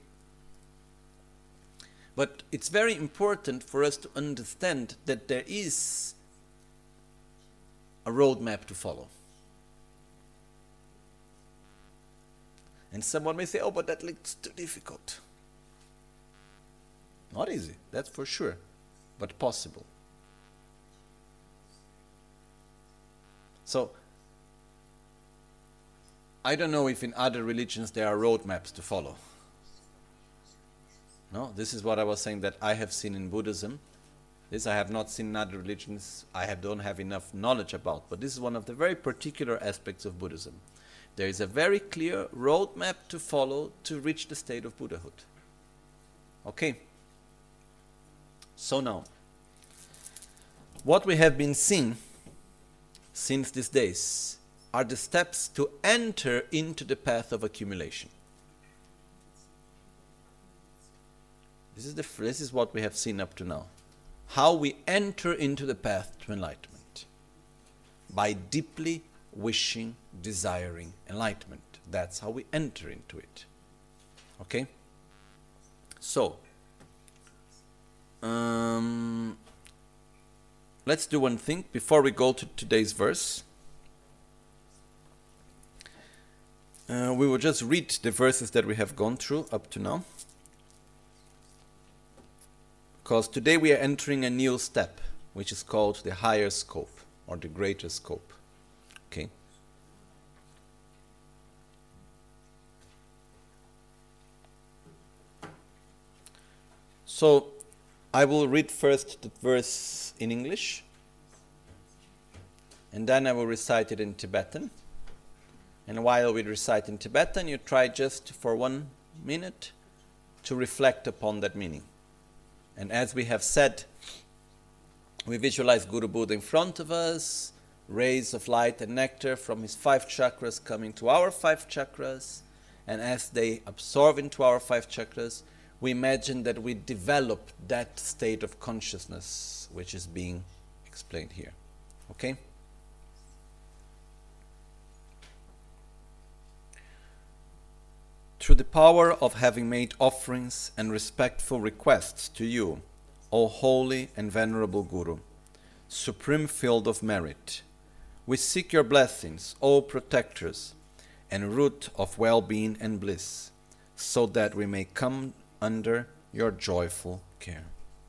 But it's very important for us to understand that there is a roadmap to follow. And someone may say, oh, but that looks too difficult. Not easy, that's for sure, but possible. So, I don't know if in other religions there are roadmaps to follow. No, this is what I was saying that I have seen in Buddhism. This I have not seen in other religions. Don't have enough knowledge about. But this is one of the very particular aspects of Buddhism. There is a very clear roadmap to follow to reach the state of Buddhahood. Okay. So now, what we have been seeing since these days are the steps to enter into the path of accumulation. This is what we have seen up to now. How we enter into the path to enlightenment. By deeply wishing, desiring enlightenment. That's how we enter into it. Okay? So, let's do one thing before we go to today's verse. We will just read the verses that we have gone through up to now. Because today we are entering a new step, which is called the higher scope, or the greater scope. Okay? So, I will read first the verse in English, and then I will recite it in Tibetan. And while we recite in Tibetan, you try just for 1 minute to reflect upon that meaning. And as we have said, we visualize Guru Buddha in front of us, rays of light and nectar from his 5 chakras coming to our 5 chakras. And as they absorb into our 5 chakras, we imagine that we develop that state of consciousness which is being explained here. Okay? Through the power of having made offerings and respectful requests to you, O holy and venerable Guru, supreme field of merit, we seek your blessings, O protectors, and root of well-being and bliss, so that we may come under your joyful care.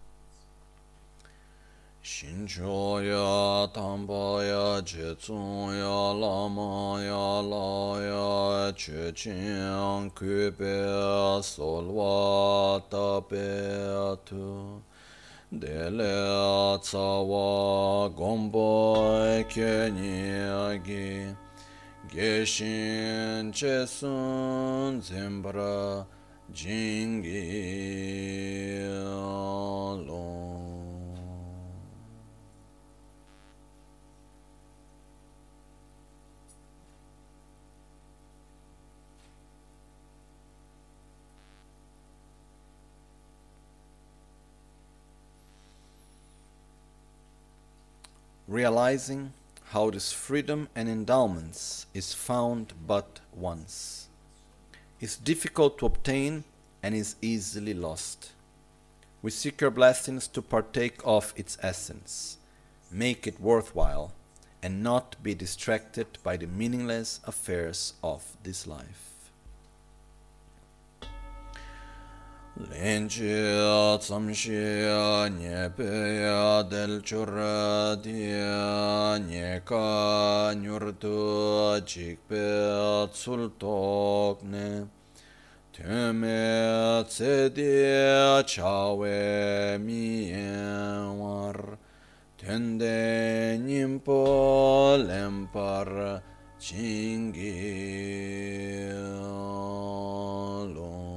Shinchoya, Tambaya, Jetsuya, Lamaya, Laya, Chechin, Kube, Solwa, Tabetu, Dele, Tsawa, Gomboy, Kenyagi, Geshin, Chesun, Zimbra, Jingi, Long. Realizing how this freedom and endowments is found but once, is difficult to obtain and is easily lost. We seek your blessings to partake of its essence, make it worthwhile, and not be distracted by the meaningless affairs of this life. Lenchia tsamshia nyepeya del churadia nyeka nyurtu chikpe tsultokne teme tsede chawe mienwar tende nimpo lempar chingi long.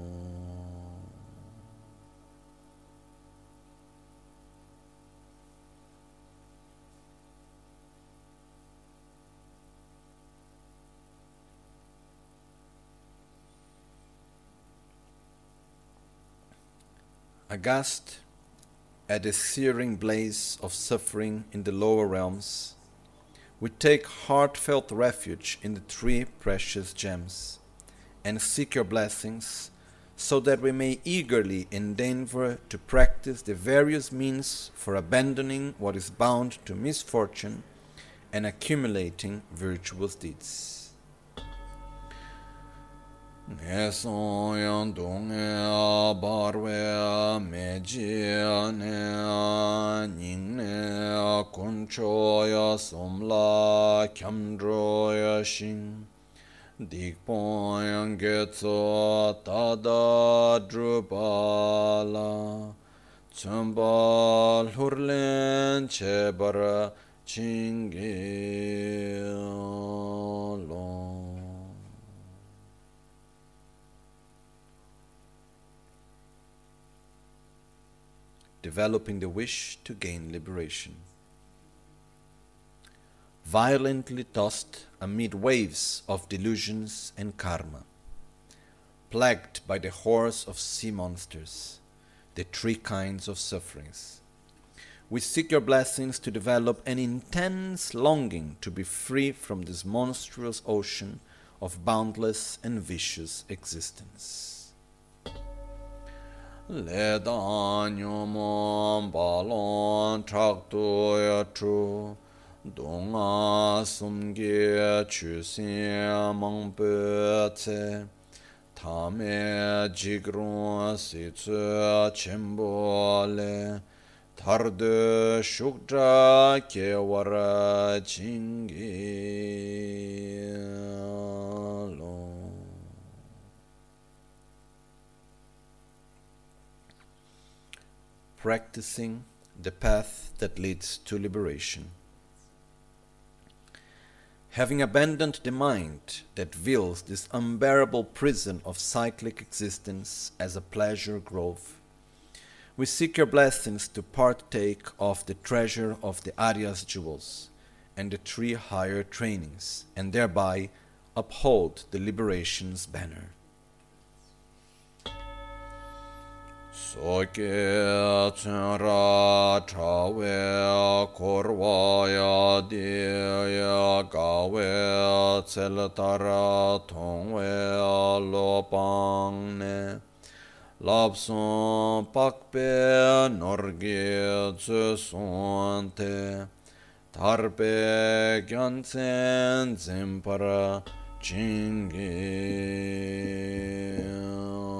Aghast at the searing blaze of suffering in the lower realms, we take heartfelt refuge in the 3 precious gems and seek your blessings so that we may eagerly endeavor to practice the various means for abandoning what is bound to misfortune and accumulating virtuous deeds. Neson yang donge barwe meji ne ning ne kunchoya somla kyamdroya shin dikpoyan getso tada drupala tsumba lurlen chebara chingelo. Developing the wish to gain liberation. Violently tossed amid waves of delusions and karma, plagued by the horrors of sea monsters, the three kinds of sufferings. We seek your blessings to develop an intense longing to be free from this monstrous ocean of boundless and vicious existence. Le danyumon balon traktuya tru donga sumge chusin mangpe tse tame jigrun si tsu chimbo le tarde shukdra kewara chingi lo. Practicing the path that leads to liberation. Having abandoned the mind that views this unbearable prison of cyclic existence as a pleasure grove, we seek your blessings to partake of the treasure of the Arya's jewels and the three higher trainings, and thereby uphold the liberation's banner. Soke tsunra trawe korwaya diya gawe tseltara tongwe lopangne lapson pakpe norge tsusonte tarpe gyansen zimpara chingi.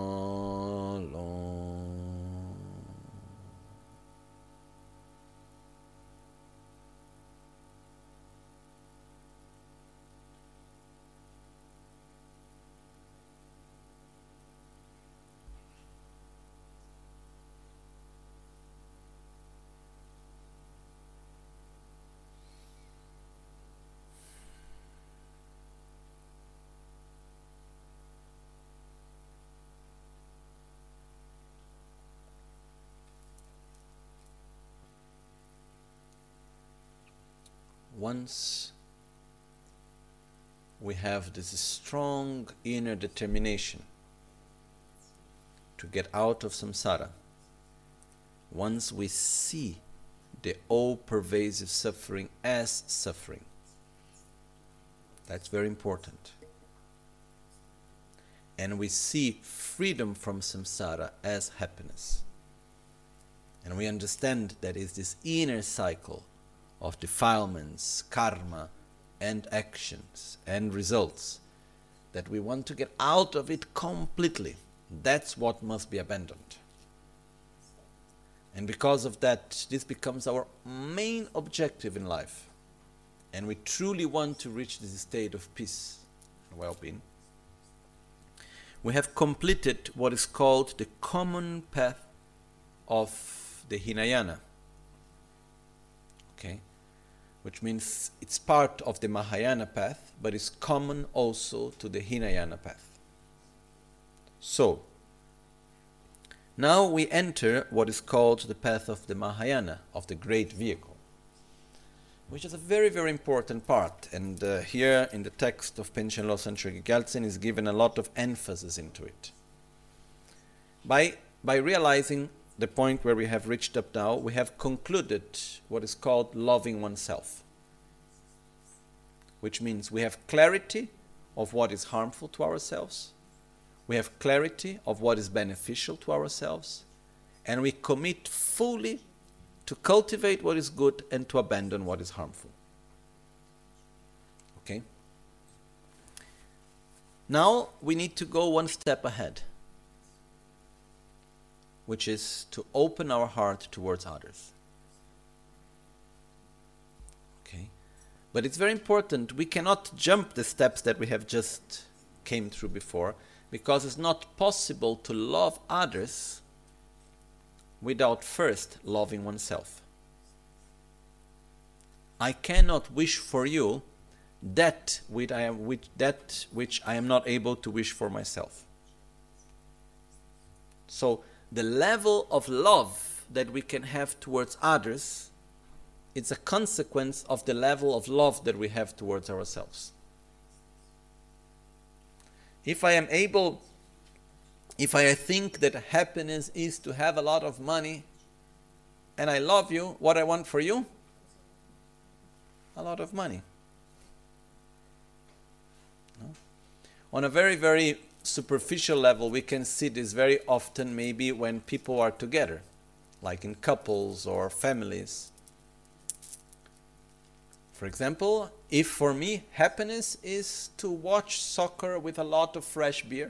Once we have this strong inner determination to get out of samsara, once we see the all-pervasive suffering as suffering, that's very important, and we see freedom from samsara as happiness, and we understand that it's this inner cycle of defilements, karma, and actions and results, that we want to get out of it completely. That's what must be abandoned. And because of that, this becomes our main objective in life. And we truly want to reach this state of peace and well-being. We have completed what is called the common path of the Hinayana. Okay, which means it's part of the Mahayana path, but is common also to the Hinayana path. So, now we enter what is called the path of the Mahayana, of the great vehicle, which is a very, very important part. And here in the text of Panchen Losang Chökyi Gyaltsen is given a lot of emphasis into it. By realizing the point where we have reached up now, we have concluded what is called loving oneself, which means we have clarity of what is harmful to ourselves, we have clarity of what is beneficial to ourselves, and we commit fully to cultivate what is good and to abandon what is harmful. Okay? Now we need to go one step ahead, which is to open our heart towards others. But it's very important. We cannot jump the steps that we have just came through before, because it's not possible to love others without first loving oneself. I cannot wish for you that which I am not able to wish for myself. So the level of love that we can have towards others, it's a consequence of the level of love that we have towards ourselves. If I think that happiness is to have a lot of money, and I love you, what I want for you? A lot of money. No? On a very, very superficial level, we can see this very often maybe when people are together, like in couples or families. For example, if for me happiness is to watch soccer with a lot of fresh beer,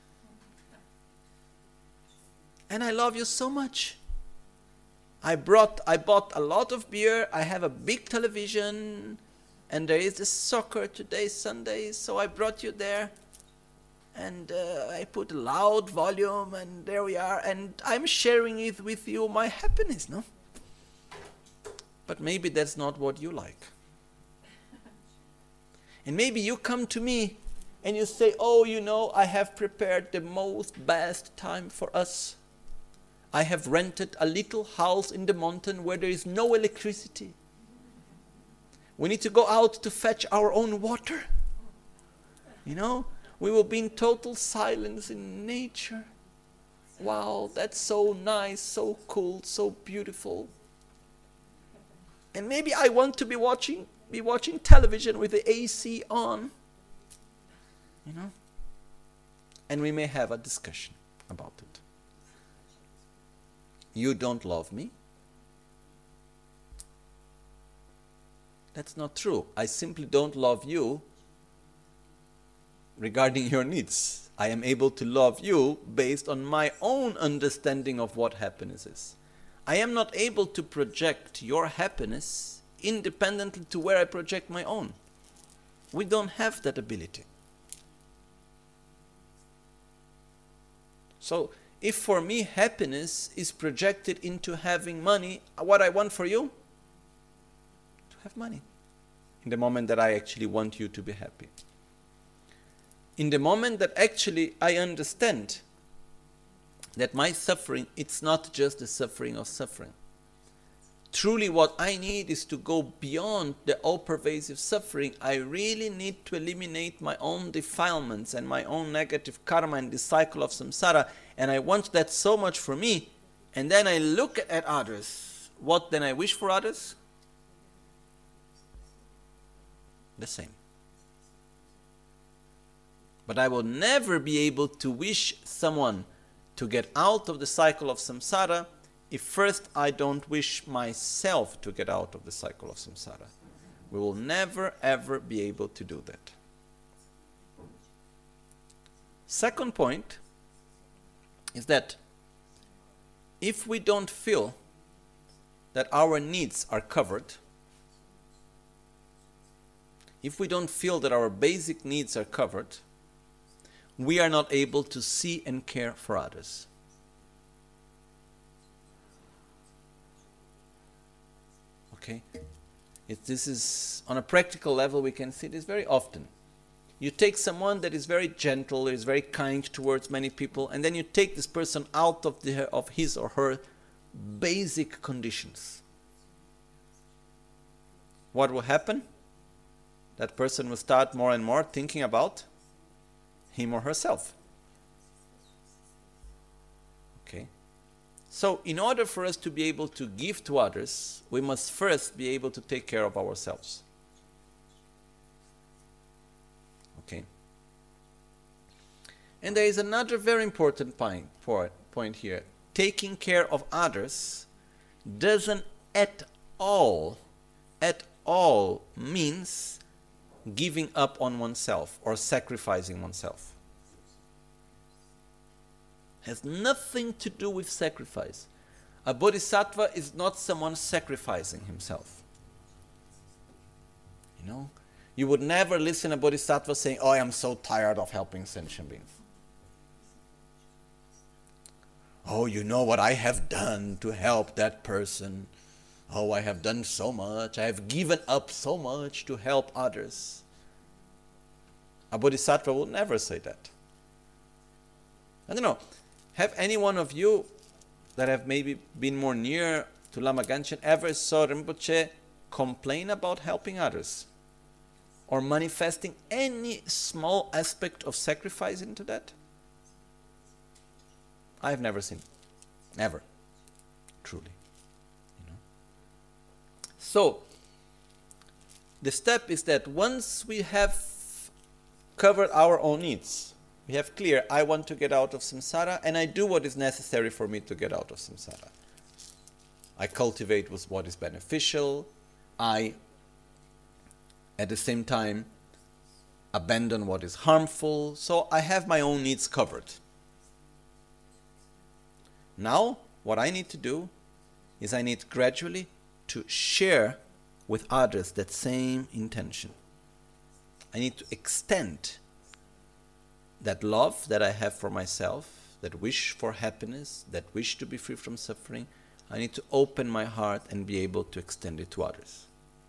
and I love you so much, I bought a lot of beer, I have a big television, and there is this soccer today, Sunday, so I brought you there, and I put a loud volume, and there we are, and I'm sharing it with you, my happiness, no? But maybe that's not what you like. And maybe you come to me and you say, oh, you know, I have prepared the most best time for us. I have rented a little house in the mountain where there is no electricity. We need to go out to fetch our own water. You know, we will be in total silence in nature. Wow, that's so nice, so cool, so beautiful. And maybe I want to be watching television with the AC on, you know, and we may have a discussion about it. You don't love me? That's not true. I simply don't love you regarding your needs. I am able to love you based on my own understanding of what happiness is. I am not able to project your happiness independently to where I project my own. We don't have that ability. So, if for me happiness is projected into having money, what I want for you? To have money. In the moment that I actually want you to be happy. In the moment that actually I understand that my suffering, it's not just the suffering of suffering. Truly what I need is to go beyond the all-pervasive suffering. I really need to eliminate my own defilements and my own negative karma and the cycle of samsara. And I want that so much for me. And then I look at others. What then I wish for others? The same. But I will never be able to wish someone to get out of the cycle of samsara if first I don't wish myself to get out of the cycle of samsara. We will never ever be able to do that. Second point is that if we don't feel that our needs are covered, if we don't feel that our basic needs are covered, we are not able to see and care for others. Okay? This is, on a practical level, we can see this very often. You take someone that is very gentle, is very kind towards many people, and then you take this person out of his or her basic conditions. What will happen? That person will start more and more thinking about him or herself. Okay? So, in order for us to be able to give to others, we must first be able to take care of ourselves. Okay? And there is another very important point here. Taking care of others doesn't at all means giving up on oneself or sacrificing oneself. Has nothing to do with sacrifice. A bodhisattva is not someone sacrificing himself. You would never listen a bodhisattva saying, oh, I am so tired of helping sentient beings. Oh, you know what I have done to help that person. Oh, I have done so much. I have given up so much to help others. A bodhisattva will never say that. I don't know. Have any one of you that have maybe been more near to Lama Ganchen ever saw Rinpoche complain about helping others? Or manifesting any small aspect of sacrifice into that? I have never seen. Never. Truly. So, the step is that once we have covered our own needs, we have clear, I want to get out of samsara and I do what is necessary for me to get out of samsara. I cultivate with what is beneficial. I, at the same time, abandon what is harmful. So I have my own needs covered. Now, what I need to do is I need gradually to share with others that same intention. I need to extend that love that I have for myself, that wish for happiness, that wish to be free from suffering. I need to open my heart and be able to extend it to others.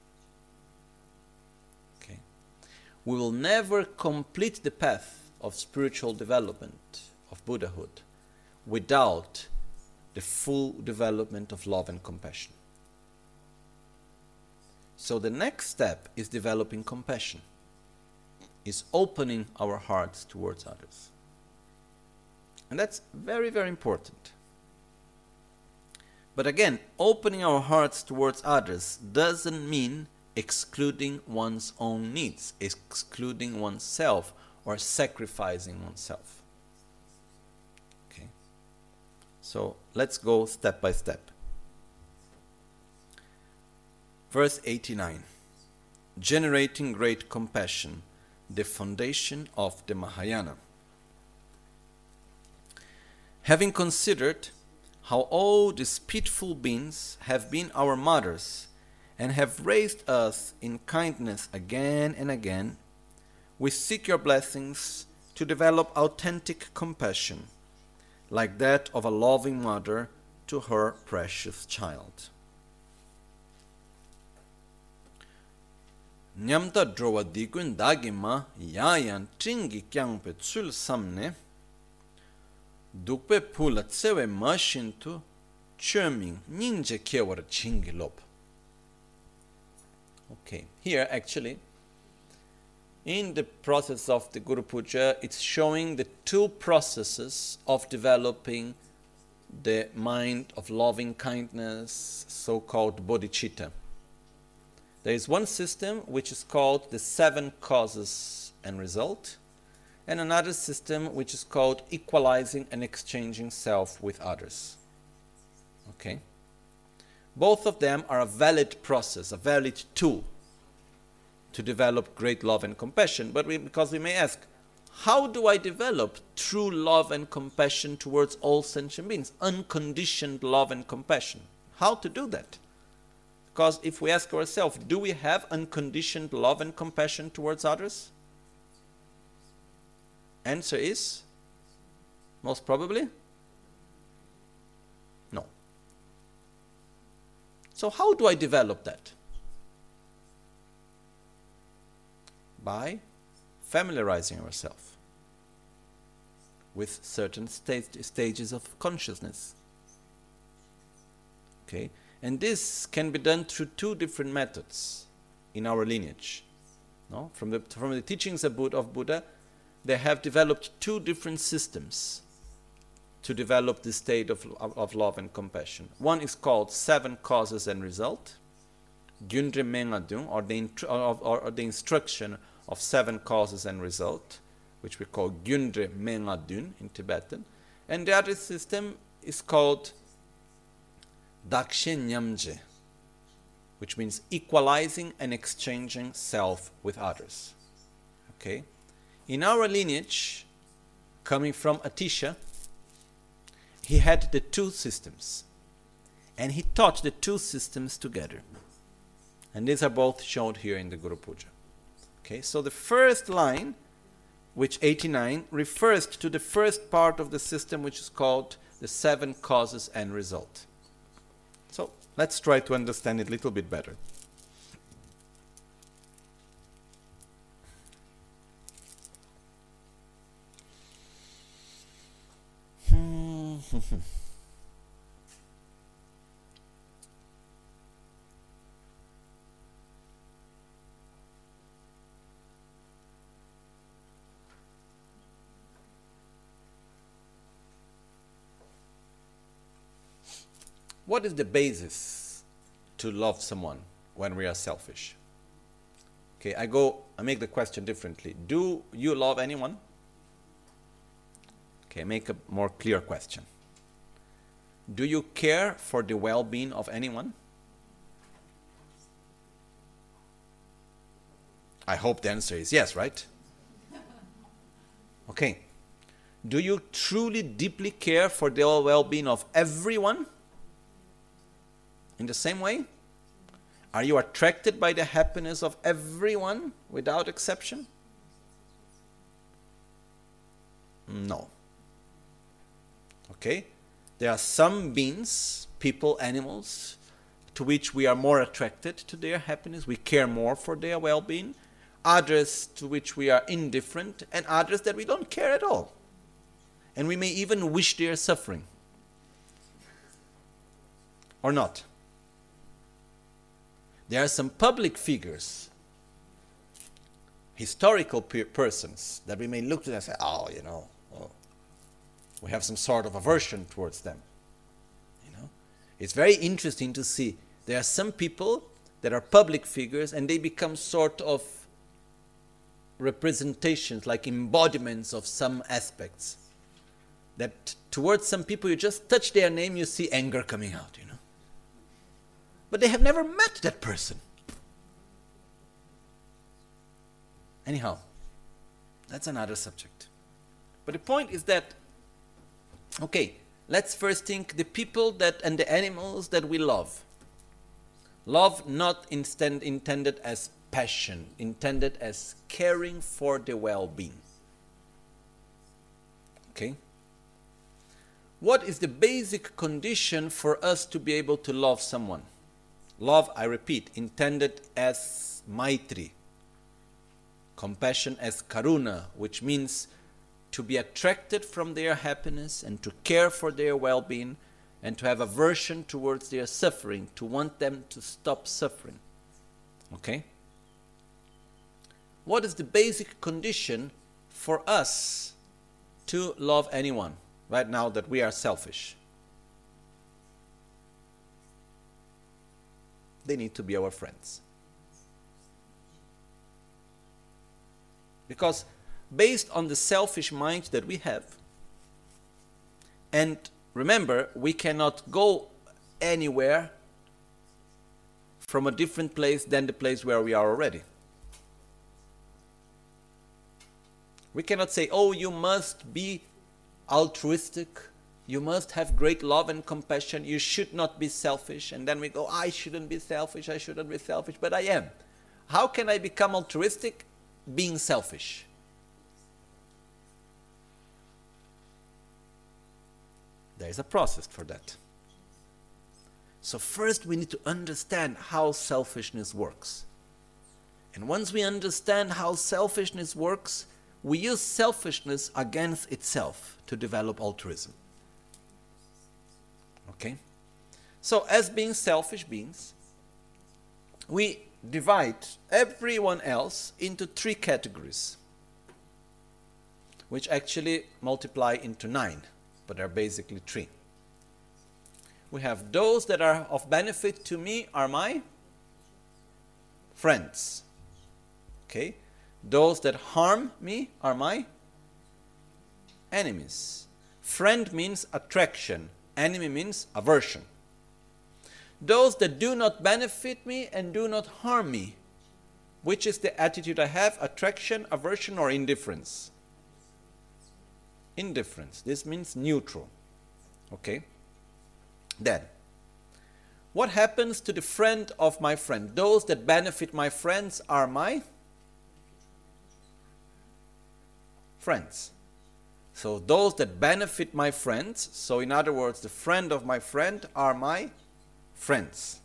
Okay. We will never complete the path of spiritual development, of Buddhahood, without the full development of love and compassion. So the next step is developing compassion, is opening our hearts towards others. And that's very, very important. But again, opening our hearts towards others doesn't mean excluding one's own needs, excluding oneself, or sacrificing oneself. Okay? So let's go step by step. Verse 89. Generating great compassion, the foundation of the Mahayana. Having considered how all these pitiful beings have been our mothers and have raised us in kindness again and again, we seek your blessings to develop authentic compassion, like that of a loving mother to her precious child. Nyamta drowa dikun dagima yayan tringi kyangpe tsul samne dukpe pula tsewe mashintu chöming ninja kewar chingi lob. Okay, here actually, in the process of the Guru Puja, it's showing the two processes of developing the mind of loving kindness, so-called bodhicitta. There is one system which is called the 7 causes and result, and another system which is called equalizing and exchanging self with others. Okay? Both of them are a valid process, a valid tool to develop great love and compassion. But because we may ask, how do I develop true love and compassion towards all sentient beings? Unconditioned love and compassion. How to do that? Because if we ask ourselves, do we have unconditioned love and compassion towards others? Answer is, most probably, no. So how do I develop that? By familiarizing ourselves with certain stages of consciousness. Okay? And this can be done through 2 different methods in our lineage. No? From the teachings of Buddha, they have developed 2 different systems to develop this state of love and compassion. One is called 7 causes and result, Gyundre Mengadung, or the instruction of 7 causes and result, which we call Gyundre Mengadun in Tibetan. And the other system is called Dakshe Nyamje, which means equalizing and exchanging self with others. Okay? In our lineage, coming from Atisha, he had the 2 systems, and he taught the 2 systems together. And these are both shown here in the Guru Puja. Okay, so the first line, which 89, refers to the first part of the system, which is called the 7 causes and result. So let's try to understand it a little bit better. What is the basis to love someone when we are selfish? Okay, I make the question differently. Do you love anyone? Okay, make a more clear question. Do you care for the well-being of anyone? I hope the answer is yes, right? Okay. Do you truly, deeply care for the well-being of everyone? In the same way? Are you attracted by the happiness of everyone without exception? No. Okay? There are some beings, people, animals, to which we are more attracted to their happiness. We care more for their well-being. Others to which we are indifferent, and others that we don't care at all. And we may even wish they are suffering. Or not. There are some public figures, historical persons, that we may look to and say, oh, we have some sort of aversion towards them. It's very interesting to see. There are some people that are public figures and they become sort of representations, like embodiments of some aspects. That towards some people, you just touch their name, you see anger coming out, But they have never met that person. Anyhow, that's another subject. But the point is that, okay, let's first think the people and the animals that we love. Love not intended as passion, intended as caring for the well-being. Okay? What is the basic condition for us to be able to love someone? Love, I repeat, intended as maitri. Compassion as karuna, which means to be attracted from their happiness and to care for their well-being and to have aversion towards their suffering, to want them to stop suffering. Okay? What is the basic condition for us to love anyone right now that we are selfish? They need to be our friends. Because based on the selfish mind that we have, and remember, we cannot go anywhere from a different place than the place where we are already. We cannot say, oh, you must be altruistic, you must have great love and compassion, you should not be selfish, and then we go, I shouldn't be selfish, but I am. How can I become altruistic? Being selfish. There is a process for that. So first we need to understand how selfishness works. And once we understand how selfishness works, we use selfishness against itself to develop altruism. Okay? So as being selfish beings, we divide everyone else into 3 categories, which actually multiply into 9, but are basically 3. We have those that are of benefit to me are my friends. Okay? Those that harm me are my enemies. Friend means attraction. Enemy means aversion. Those that do not benefit me and do not harm me. Which is the attitude I have? Attraction, aversion, or indifference? Indifference. This means neutral. Okay? Then, What happens to the friend of my friend? Those that benefit my friends are my friends. So those that benefit my friends, so in other words, the friend of my friend are my friends.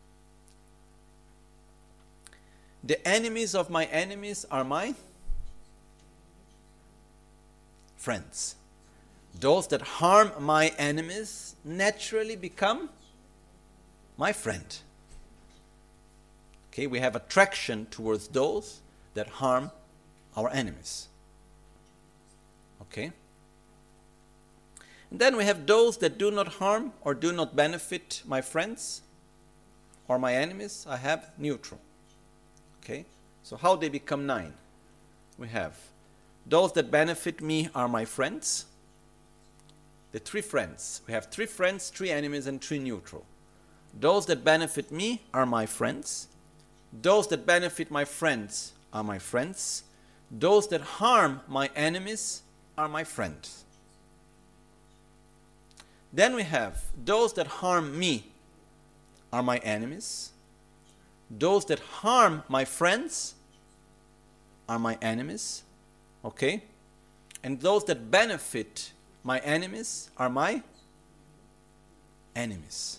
The enemies of my enemies are my friends. Those that harm my enemies naturally become my friend. Okay, we have attraction towards those that harm our enemies. Okay? And then we have those that do not harm or do not benefit my friends or my enemies. I have neutral. Okay? So how they become 9? We have those that benefit me are my friends. The 3 friends. We have 3 friends, 3 enemies, and 3 neutral. Those that benefit me are my friends. Those that benefit my friends are my friends. Those that harm my enemies are my friends. Then we have those that harm me are my enemies. Those that harm my friends are my enemies. Okay? And those that benefit my enemies are my enemies.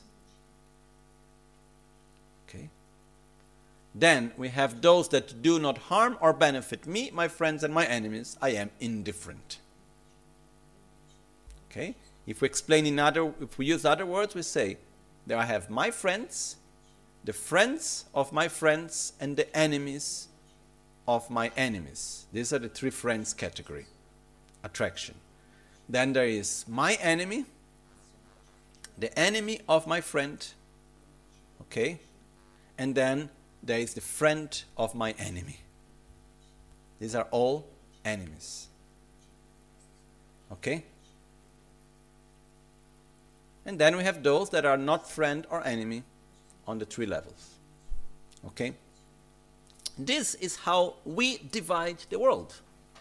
Okay? Then we have those that do not harm or benefit me, my friends, and my enemies. I am indifferent. Okay? If we use other words, we say that I have my friends, the friends of my friends, and the enemies of my enemies. These are the 3 friends category. Attraction. Then there is my enemy, the enemy of my friend, okay? And then there is the friend of my enemy. These are all enemies. Okay? And then we have those that are not friend or enemy on the 3 levels. Okay? This is how we divide the world.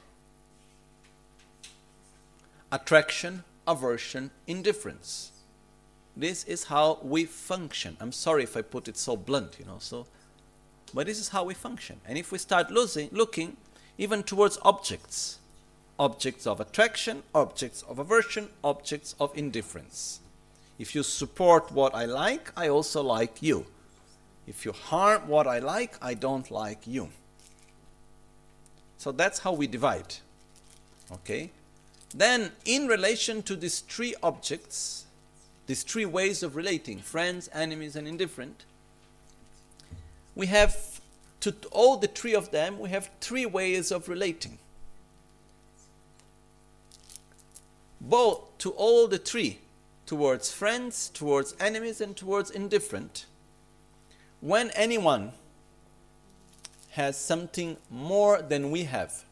Attraction, aversion, indifference. This is how we function. I'm sorry if I put it so blunt, but this is how we function. And if we start looking even towards objects, objects of attraction, objects of aversion, objects of indifference. If you support what I like, I also like you. If you harm what I like, I don't like you. So that's how we divide. Okay? Then, in relation to these 3 objects, these 3 ways of relating, friends, enemies, and indifferent, we have, to all the 3 of them, we have 3 ways of relating. Both to all the 3, towards friends, towards enemies, and towards indifferent. When anyone has something more than we have,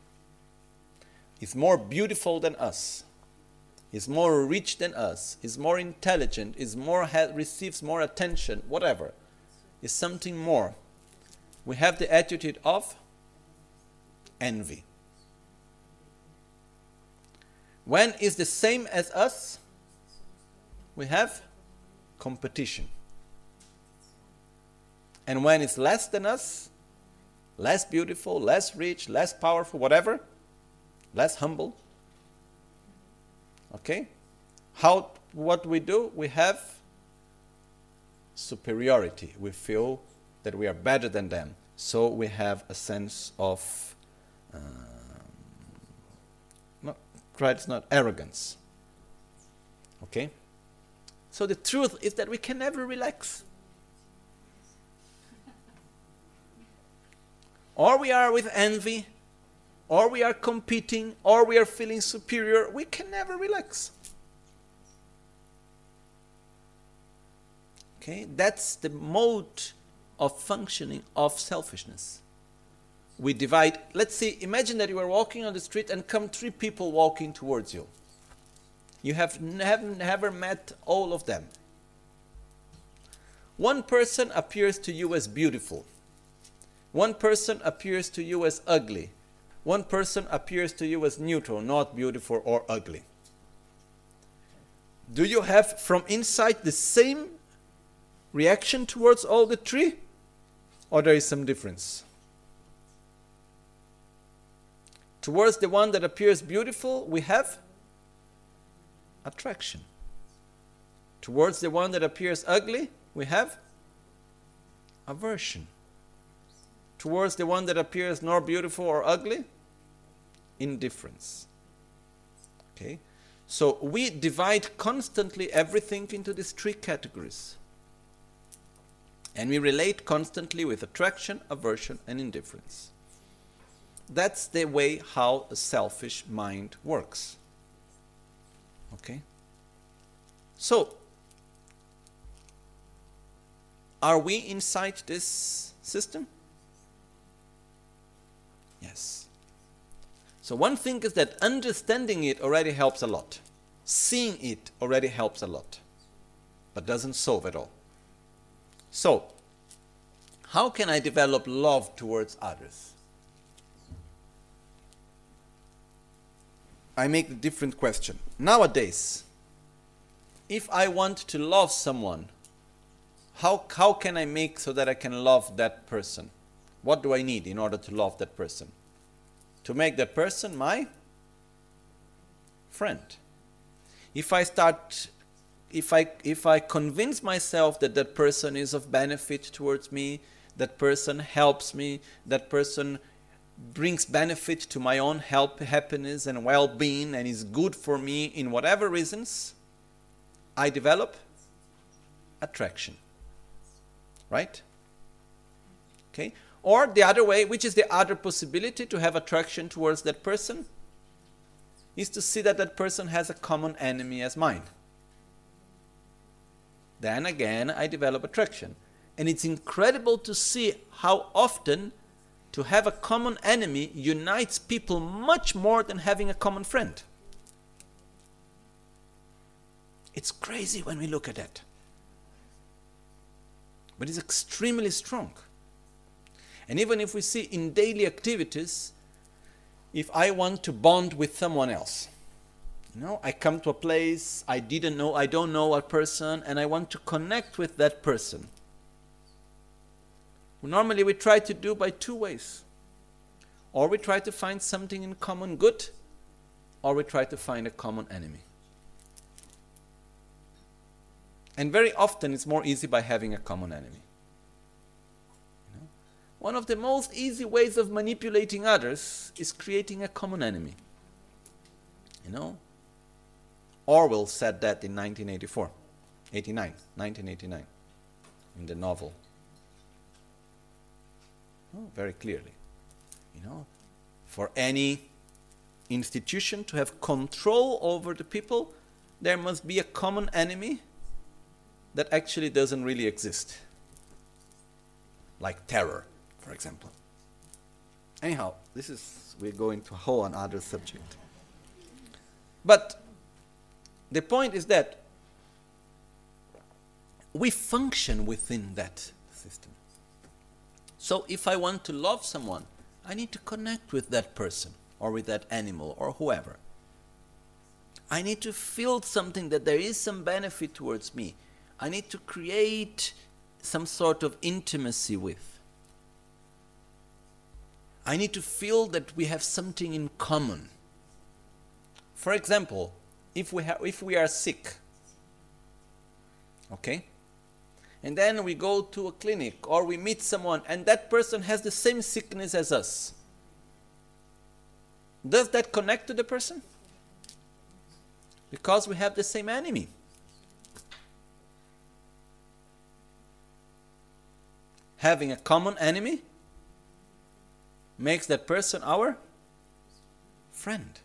is more beautiful than us, is more rich than us, is more intelligent, receives more attention, whatever, is something more, we have the attitude of envy. When is the same as us, we have competition. And when it's less than us, less beautiful, less rich, less powerful, whatever, less humble. Okay? What we do? We have superiority. We feel that we are better than them. So we have a sense of, it's not arrogance. Okay? So the truth is that we can never relax. Or we are with envy, or we are competing, or we are feeling superior. We can never relax. Okay? That's the mode of functioning of selfishness. We divide. Let's say, imagine that you are walking on the street and come 3 people walking towards you. You have never met all of them. One person appears to you as beautiful. One person appears to you as ugly. One person appears to you as neutral, not beautiful or ugly. Do you have from inside the same reaction towards all the three, or there is some difference? Towards the one that appears beautiful, we have attraction. Towards the one that appears ugly, we have aversion. Towards the one that appears nor beautiful or ugly, indifference. Okay? So we divide constantly everything into these three categories. And we relate constantly with attraction, aversion, and indifference. That's the way how a selfish mind works. Okay? So, are we inside this system? Yes. So one thing is that understanding it already helps a lot. Seeing it already helps a lot. But doesn't solve it all. So, how can I develop love towards others? I make a different question. Nowadays, if I want to love someone, how can I make so that I can love that person? What do I need in order to love that person? To make that person my friend. If I convince myself that that person is of benefit towards me, that person helps me, that person brings benefit to my own happiness and well-being and is good for me in whatever reasons, I develop attraction. Right? Okay? Or the other way, which is the other possibility to have attraction towards that person, is to see that that person has a common enemy as mine. Then again, I develop attraction. And it's incredible to see how often to have a common enemy unites people much more than having a common friend. It's crazy when we look at that. But it's extremely strong. And even if we see in daily activities, if I want to bond with someone else, I come to a place, I don't know a person, and I want to connect with that person. Normally we try to do by two ways. Or we try to find something in common good, or we try to find a common enemy. And very often it's more easy by having a common enemy. One of the most easy ways of manipulating others is creating a common enemy. Orwell said that in 1989, in the novel. Very clearly. For any institution to have control over the people, there must be a common enemy that actually doesn't really exist. Like terror, for example. Anyhow, we're going to a whole another subject. But the point is that we function within that system. So if I want to love someone, I need to connect with that person or with that animal or whoever. I need to feel something that there is some benefit towards me. I need to create some sort of intimacy with. I need to feel that we have something in common. For example, if we are sick, okay? And then we go to a clinic or we meet someone and that person has the same sickness as us. Does that connect to the person? Because we have the same enemy. Having a common enemy makes that person our friend.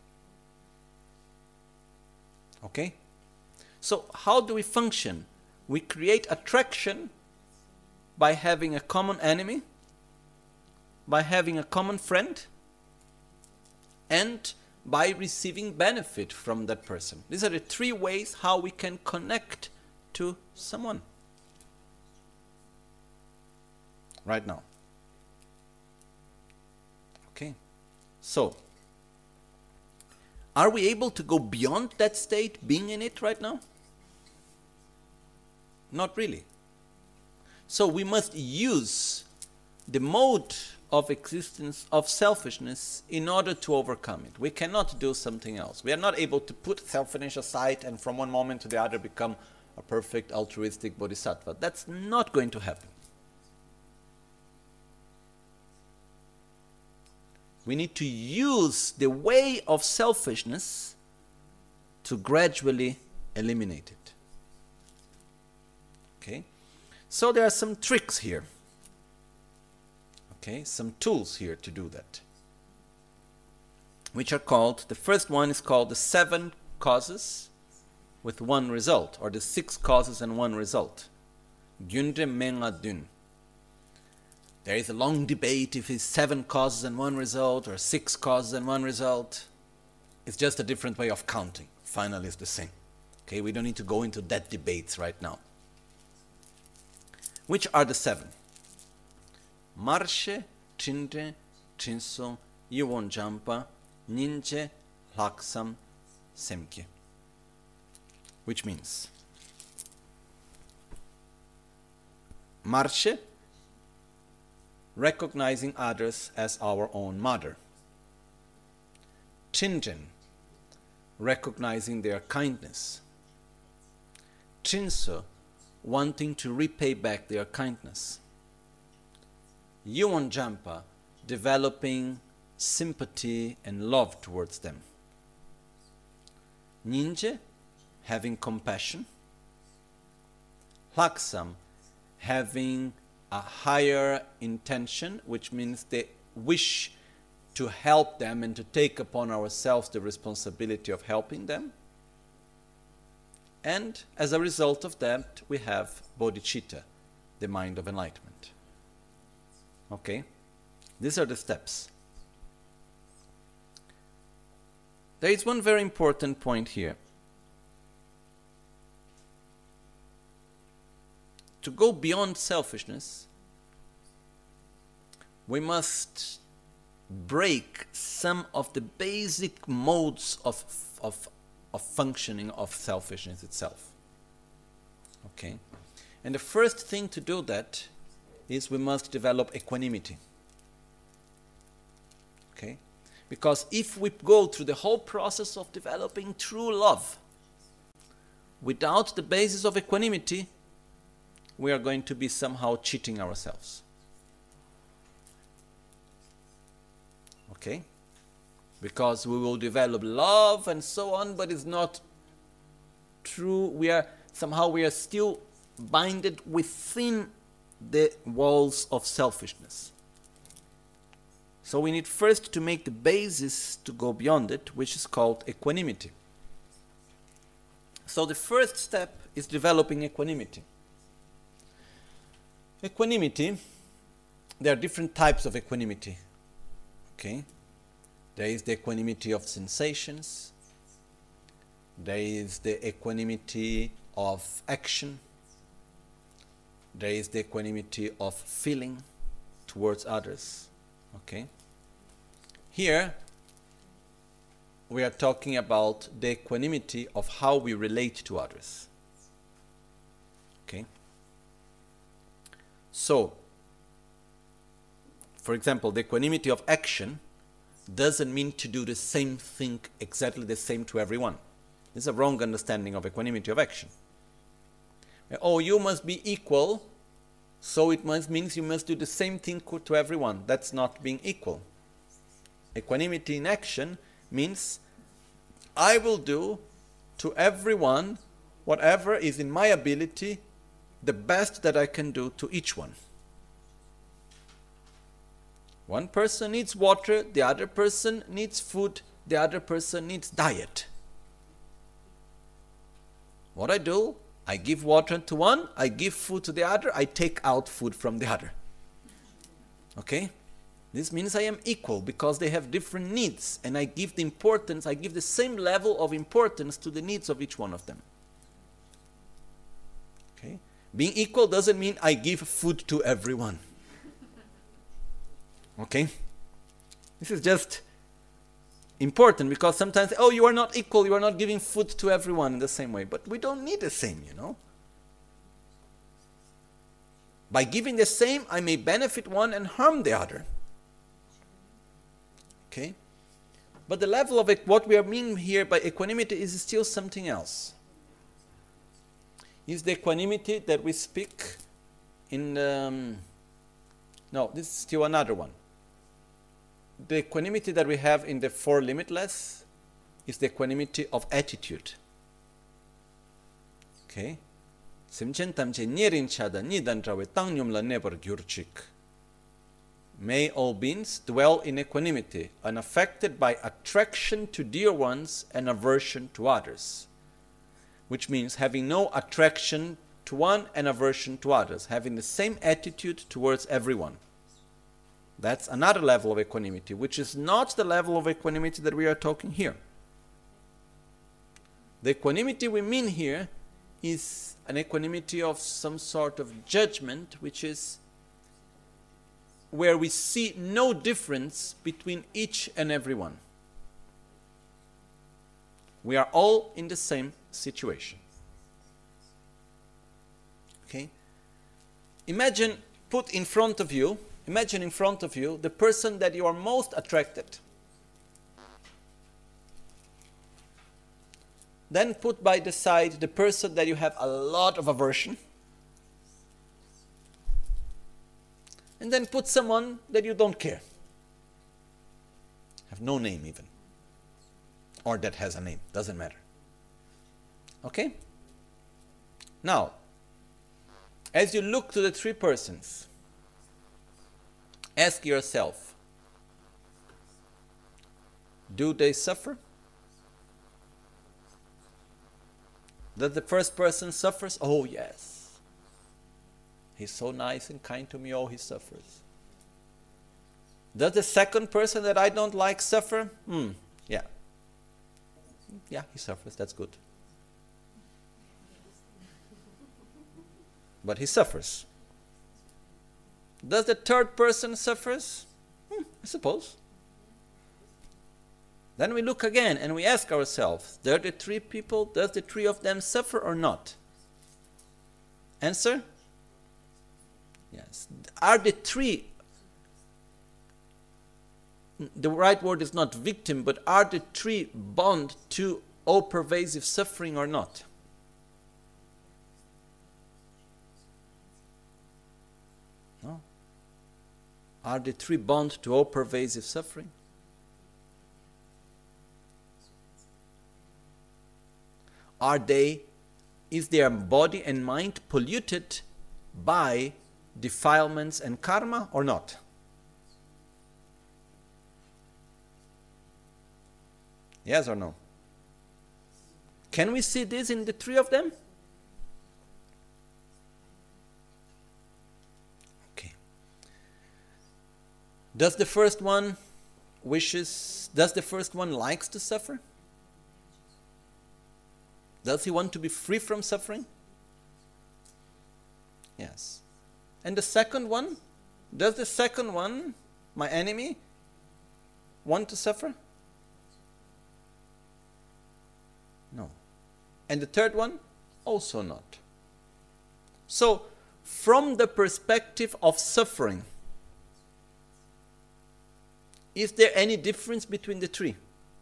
Okay? So how do we function? We create attraction by having a common enemy, by having a common friend, and by receiving benefit from that person. These are the three ways how we can connect to someone. Right now. Okay. So, are we able to go beyond that state, being in it right now? Not really. So we must use the mode of existence of selfishness in order to overcome it. We cannot do something else. We are not able to put selfishness aside and from one moment to the other become a perfect altruistic bodhisattva. That's not going to happen. We need to use the way of selfishness to gradually eliminate it. Okay? So there are some tricks here. Okay, some tools here to do that. Which are called, the first one is called the 7 causes with 1 result, or the 6 causes and 1 result. Gyunre Menga Dun. There is a long debate if it's 7 causes and 1 result or 6 causes and 1 result. It's just a different way of counting. Finally, it's the same. Okay, we don't need to go into that debates right now. Which are the 7? Marshe, Chinde, Chinso, Yewon Jampa, Ninje, Laksam, Semkye. Which means Marshe, recognizing others as our own mother. Chinjen, recognizing their kindness. Chinso, wanting to repay back their kindness. Yewon Jampa, developing sympathy and love towards them. Ninje, having compassion. Laksam, having a higher intention, which means they wish to help them and to take upon ourselves the responsibility of helping them. And as a result of that, we have bodhicitta, the mind of enlightenment. Okay? These are the steps. There is one very important point here. To go beyond selfishness, we must break some of the basic modes of functioning of selfishness itself. Okay? And the first thing to do that is we must develop equanimity. Okay? Because if we go through the whole process of developing true love without the basis of equanimity, we are going to be somehow cheating ourselves. Okay? Because we will develop love and so on, but it's not true. We are still binded within the walls of selfishness. So we need first to make the basis to go beyond it, which is called equanimity. So the first step is developing equanimity. Equanimity, there are different types of equanimity. Okay? There is the equanimity of sensations. There is the equanimity of action. There is the equanimity of feeling towards others. Okay? Here, we are talking about the equanimity of how we relate to others. Okay? So, for example, the equanimity of action doesn't mean to do the same thing, exactly the same to everyone. This is a wrong understanding of equanimity of action. Oh, you must be equal, so it means you must do the same thing to everyone. That's not being equal. Equanimity in action means I will do to everyone whatever is in my ability, the best that I can do to each one. One person needs water, the other person needs food, the other person needs diet. What I do, I give water to one, I give food to the other, I take out food from the other. Okay? This means I am equal because they have different needs and I give the same level of importance to the needs of each one of them. Okay? Being equal doesn't mean I give food to everyone. Okay? This is just important because sometimes, oh, you are not equal, you are not giving food to everyone in the same way. But we don't need the same, you know. By giving the same, I may benefit one and harm the other. Okay? But the level of what we are meaning here by equanimity is still something else. Is the equanimity that we speak in no, this is still another one. The equanimity that we have in the Four Limitless is the equanimity of attitude. Okay? May all beings dwell in equanimity, unaffected by attraction to dear ones and aversion to others. Which means having no attraction to one and aversion to others, having the same attitude towards everyone. That's another level of equanimity, which is not the level of equanimity that we are talking here. The equanimity we mean here is an equanimity of some sort of judgment, which is where we see no difference between each and every one. We are all in the same situation. Okay? Imagine in front of you the person that you are most attracted. Then put by the side the person that you have a lot of aversion. And then put someone that you don't care. Have no name even. Or that has a name, doesn't matter. Okay? Now, as you look to the three persons, ask yourself, do they suffer? Does the first person suffers? Oh yes. He's so nice and kind to me, oh he suffers. Does the second person that I don't like suffer? Yeah. Yeah, he suffers, that's good. But he suffers. Does the third person suffers? I suppose. Then we look again and we ask ourselves, does the three of them suffer or not? Answer? Yes. Are the three, the right word is not victim, but are the three bound to all-pervasive suffering or not? No. Are the three bound to all-pervasive suffering? Is their body and mind polluted by defilements and karma or not? Yes or no? Can we see this in the three of them? Okay. Does the first one likes to suffer? Does he want to be free from suffering? Yes. And the second one? Does the second one, my enemy, want to suffer? No. And the third one? Also not. So, from the perspective of suffering, is there any difference between the three?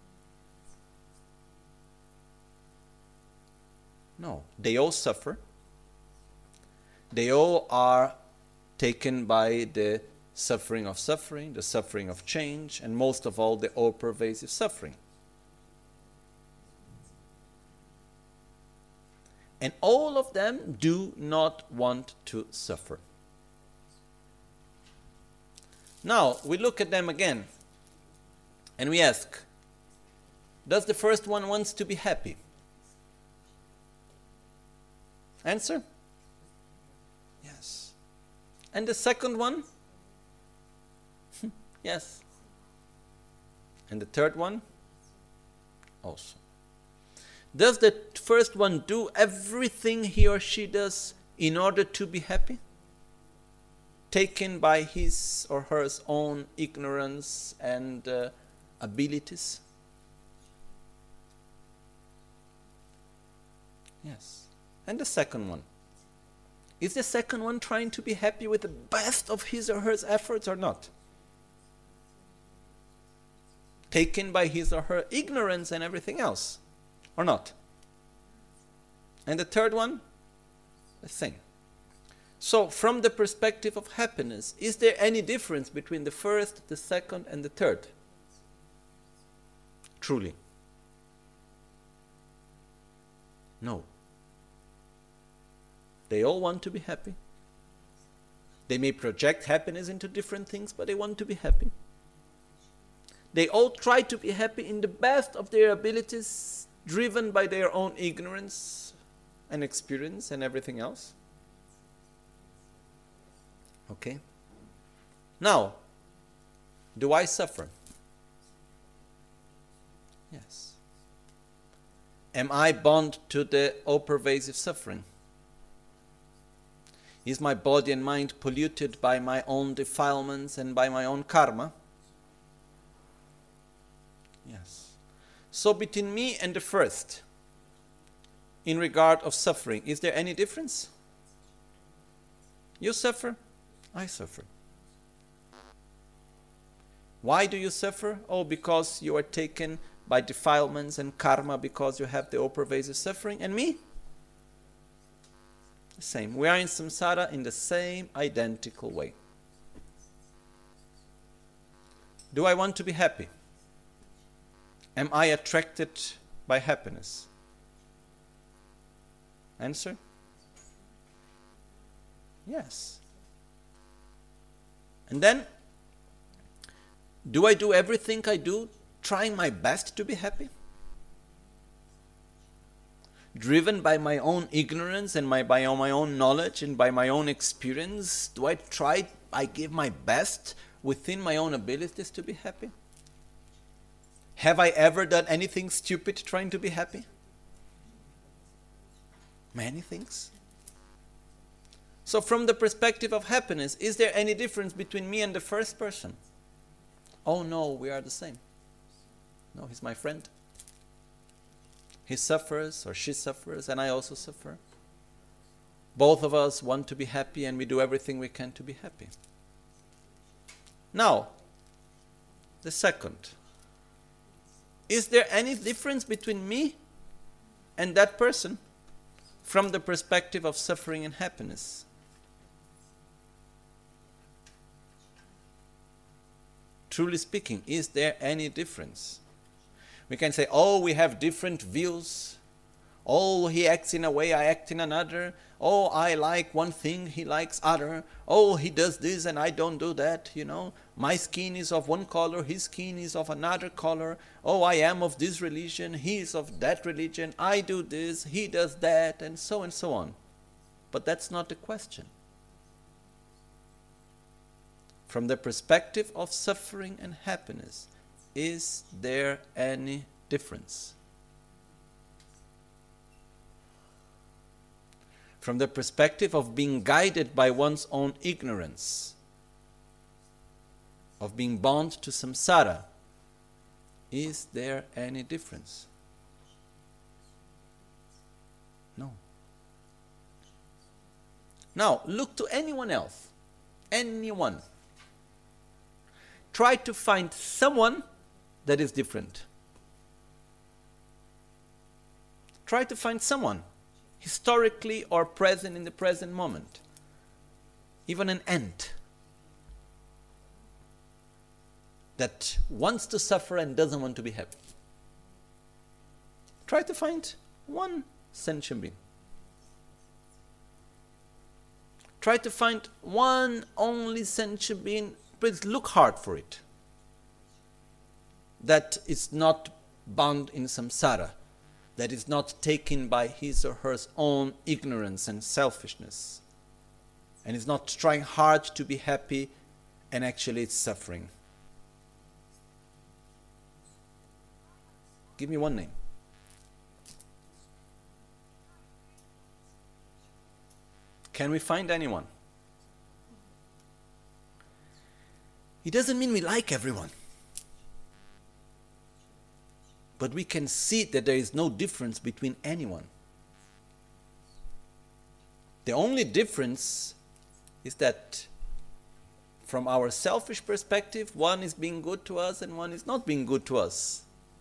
No. They all suffer. They all are taken by the suffering, the suffering of change, and most of all, the all-pervasive suffering. And all of them do not want to suffer. Now, we look at them again, and we ask, does the first one wants to be happy? Answer? Yes. And the second one? Yes. And the third one? Also. Does the first one do everything he or she does in order to be happy? Taken by his or her own ignorance and abilities? Yes. And the second one? Is the second one trying to be happy with the best of his or her efforts or not? Taken by his or her ignorance and everything else, or not? And the third one, the same. So, from the perspective of happiness, is there any difference between the first, the second, and the third? Truly. No. They all want to be happy. They may project happiness into different things, but they want to be happy. They all try to be happy in the best of their abilities, driven by their own ignorance and experience and everything else. Okay? Now, do I suffer? Yes. Am I bound to the all-pervasive suffering? Is my body and mind polluted by my own defilements and by my own karma? Yes. So between me and the first, in regard of suffering, is there any difference? You suffer, I suffer. Why do you suffer? Oh, because you are taken by defilements and karma, because you have the all-pervasive suffering. And me? The same. We are in samsara in the same identical way. Do I want to be happy? Am I attracted by happiness? Answer? Yes. And then, do I do everything I do trying my best to be happy? Driven by my own ignorance and by my own knowledge and by my own experience, do I give my best within my own abilities to be happy? Have I ever done anything stupid trying to be happy? Many things. So from the perspective of happiness, is there any difference between me and the first person? Oh no, we are the same. No, he's my friend. He suffers or she suffers and I also suffer. Both of us want to be happy and we do everything we can to be happy. Now, the second. Is there any difference between me and that person from the perspective of suffering and happiness? Truly speaking, is there any difference? We can say, oh, we have different views. Oh, he acts in a way, I act in another. Oh, I like one thing, he likes other. Oh, he does this and I don't do that, you know. My skin is of one color, his skin is of another color. Oh, I am of this religion, he is of that religion. I do this, he does that, and so on. But that's not the question. From the perspective of suffering and happiness, is there any difference? From the perspective of being guided by one's own ignorance, of being bound to samsara, is there any difference? No. Now, look to anyone else. Anyone. Try to find someone that is different. Try to find someone, historically or present in the present moment. Even an ant that wants to suffer and doesn't want to be happy. Try to find one sentient being. Try to find one only sentient being. Please look hard for it. That is not bound in samsara. That is not taken by his or her own ignorance and selfishness. And is not trying hard to be happy and actually it's suffering. Give me one name. Can we find anyone? It doesn't mean we like everyone. But we can see that there is no difference between anyone. The only difference is that from our selfish perspective, one is being good to us and one is not being good to us.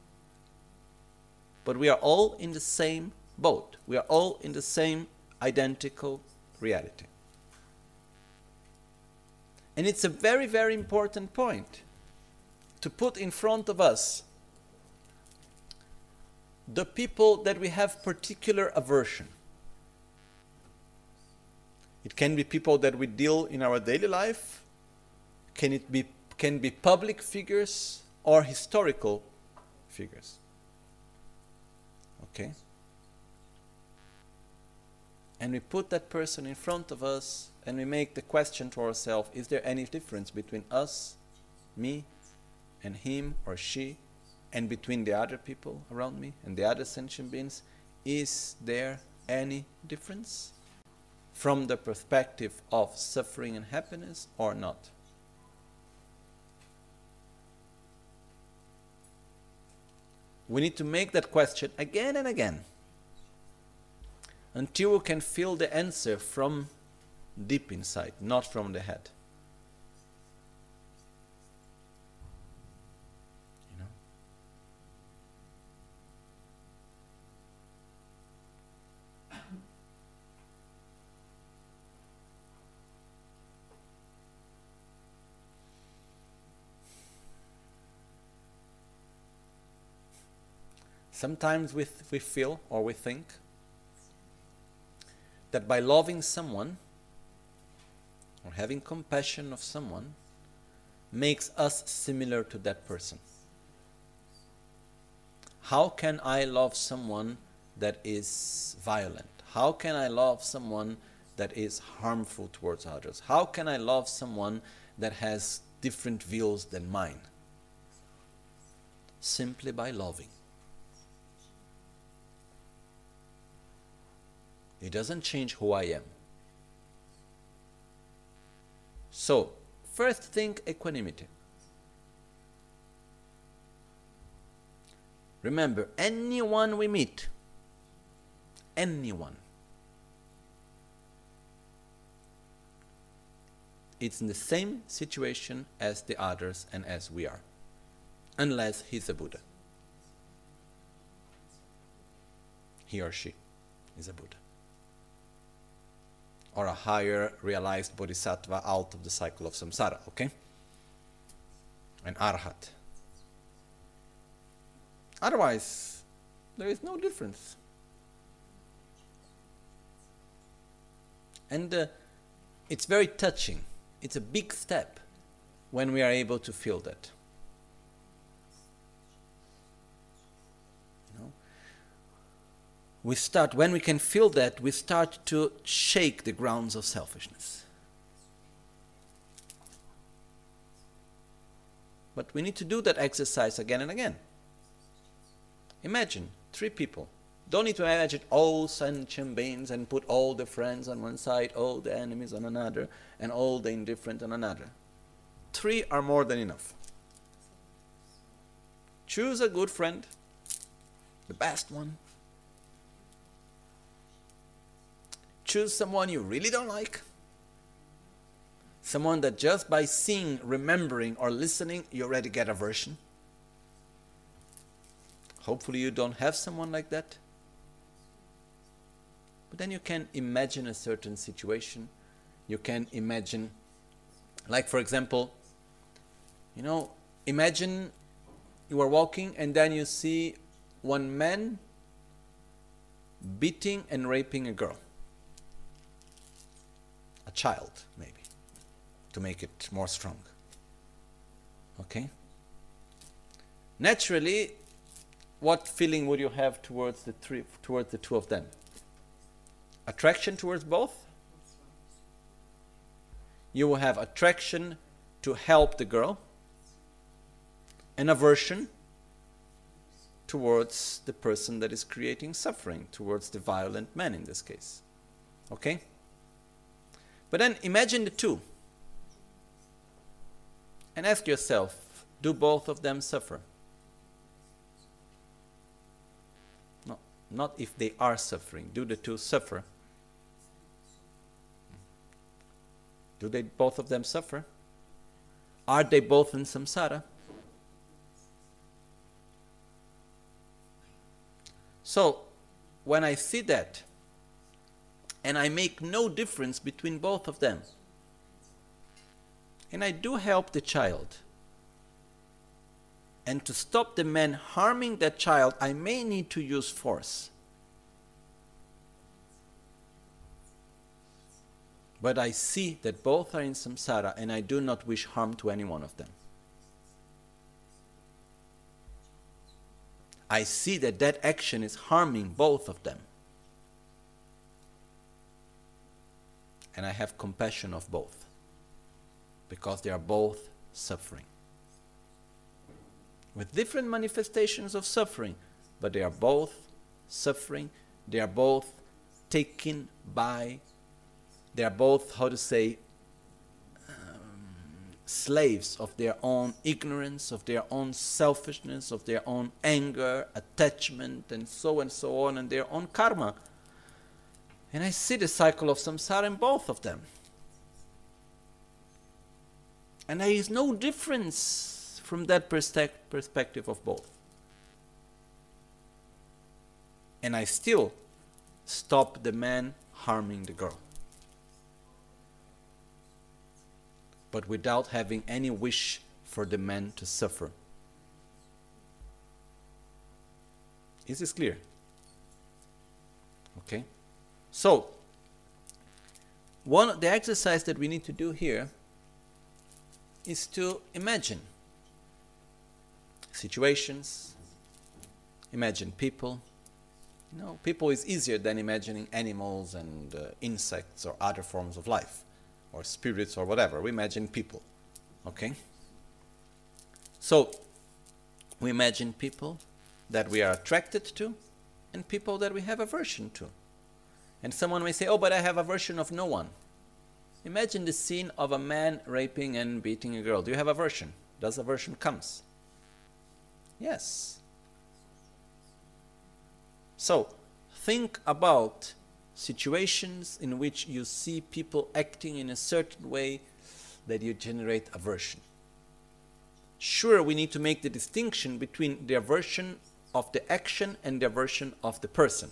But we are all in the same boat. We are all in the same identical reality. And it's a very, very important point to put in front of us the people that we have particular aversion. It can be people that we deal in our daily life. Can be public figures or historical figures. Okay? And we put that person in front of us and we make the question to ourselves, is there any difference between us, me, and him or she, and between the other people around me and the other sentient beings? Is there any difference from the perspective of suffering and happiness or not? We need to make that question again and again until we can feel the answer from deep inside, not from the head. You know? Sometimes we feel or we think that by loving someone or having compassion of someone makes us similar to that person. How can I love someone that is violent? How can I love someone that is harmful towards others? How can I love someone that has different views than mine? Simply by loving. It doesn't change who I am. So, first think equanimity. Remember, anyone we meet, anyone, it's in the same situation as the others and as we are, unless he's a Buddha. He or she is a Buddha, or a higher realized bodhisattva out of the cycle of samsara, okay? An arhat. Otherwise, there is no difference. And it's very touching. It's a big step when we are able to feel that. When we can feel that, we start to shake the grounds of selfishness. But we need to do that exercise again and again. Imagine 3 people. Don't need to imagine all sentient beings and put all the friends on one side, all the enemies on another, and all the indifferent on another. 3 are more than enough. Choose a good friend, the best one. Choose someone you really don't like. Someone that just by seeing, remembering, or listening, you already get aversion. Hopefully you don't have someone like that. But then you can imagine a certain situation. You can imagine, like for example, imagine you are walking and then you see one man beating and raping a girl. A child, maybe, to make it more strong. Okay? Naturally, what feeling would you have towards the 2 of them? Attraction towards both? You will have attraction to help the girl and aversion towards the person that is creating suffering, towards the violent man in this case. Okay? But then imagine the 2 and ask yourself, do both of them suffer? No, not if they are suffering. Do the 2 suffer? Do they both of them suffer? Are they both in samsara? So, when I see that, and I make no difference between both of them, and I do help the child, and to stop the man harming that child, I may need to use force. But I see that both are in samsara, and I do not wish harm to any one of them. I see that that action is harming both of them. And I have compassion of both, because they are both suffering. With different manifestations of suffering, but they are both suffering, they are both taken by, they are both, how to say, slaves of their own ignorance, of their own selfishness, of their own anger, attachment, and so on, and their own karma. And I see the cycle of samsara in both of them. And there is no difference from that perspective of both. And I still stop the man harming the girl, but without having any wish for the man to suffer. Is this clear? Okay. So, the exercise that we need to do here is to imagine situations, imagine people. You know, people is easier than imagining animals and insects or other forms of life, or spirits or whatever. We imagine people, okay? So, we imagine people that we are attracted to and people that we have aversion to. And someone may say, oh, but I have aversion of no one. Imagine the scene of a man raping and beating a girl. Do you have aversion? Does aversion comes? Yes. So, think about situations in which you see people acting in a certain way that you generate aversion. Sure, we need to make the distinction between the aversion of the action and the aversion of the person.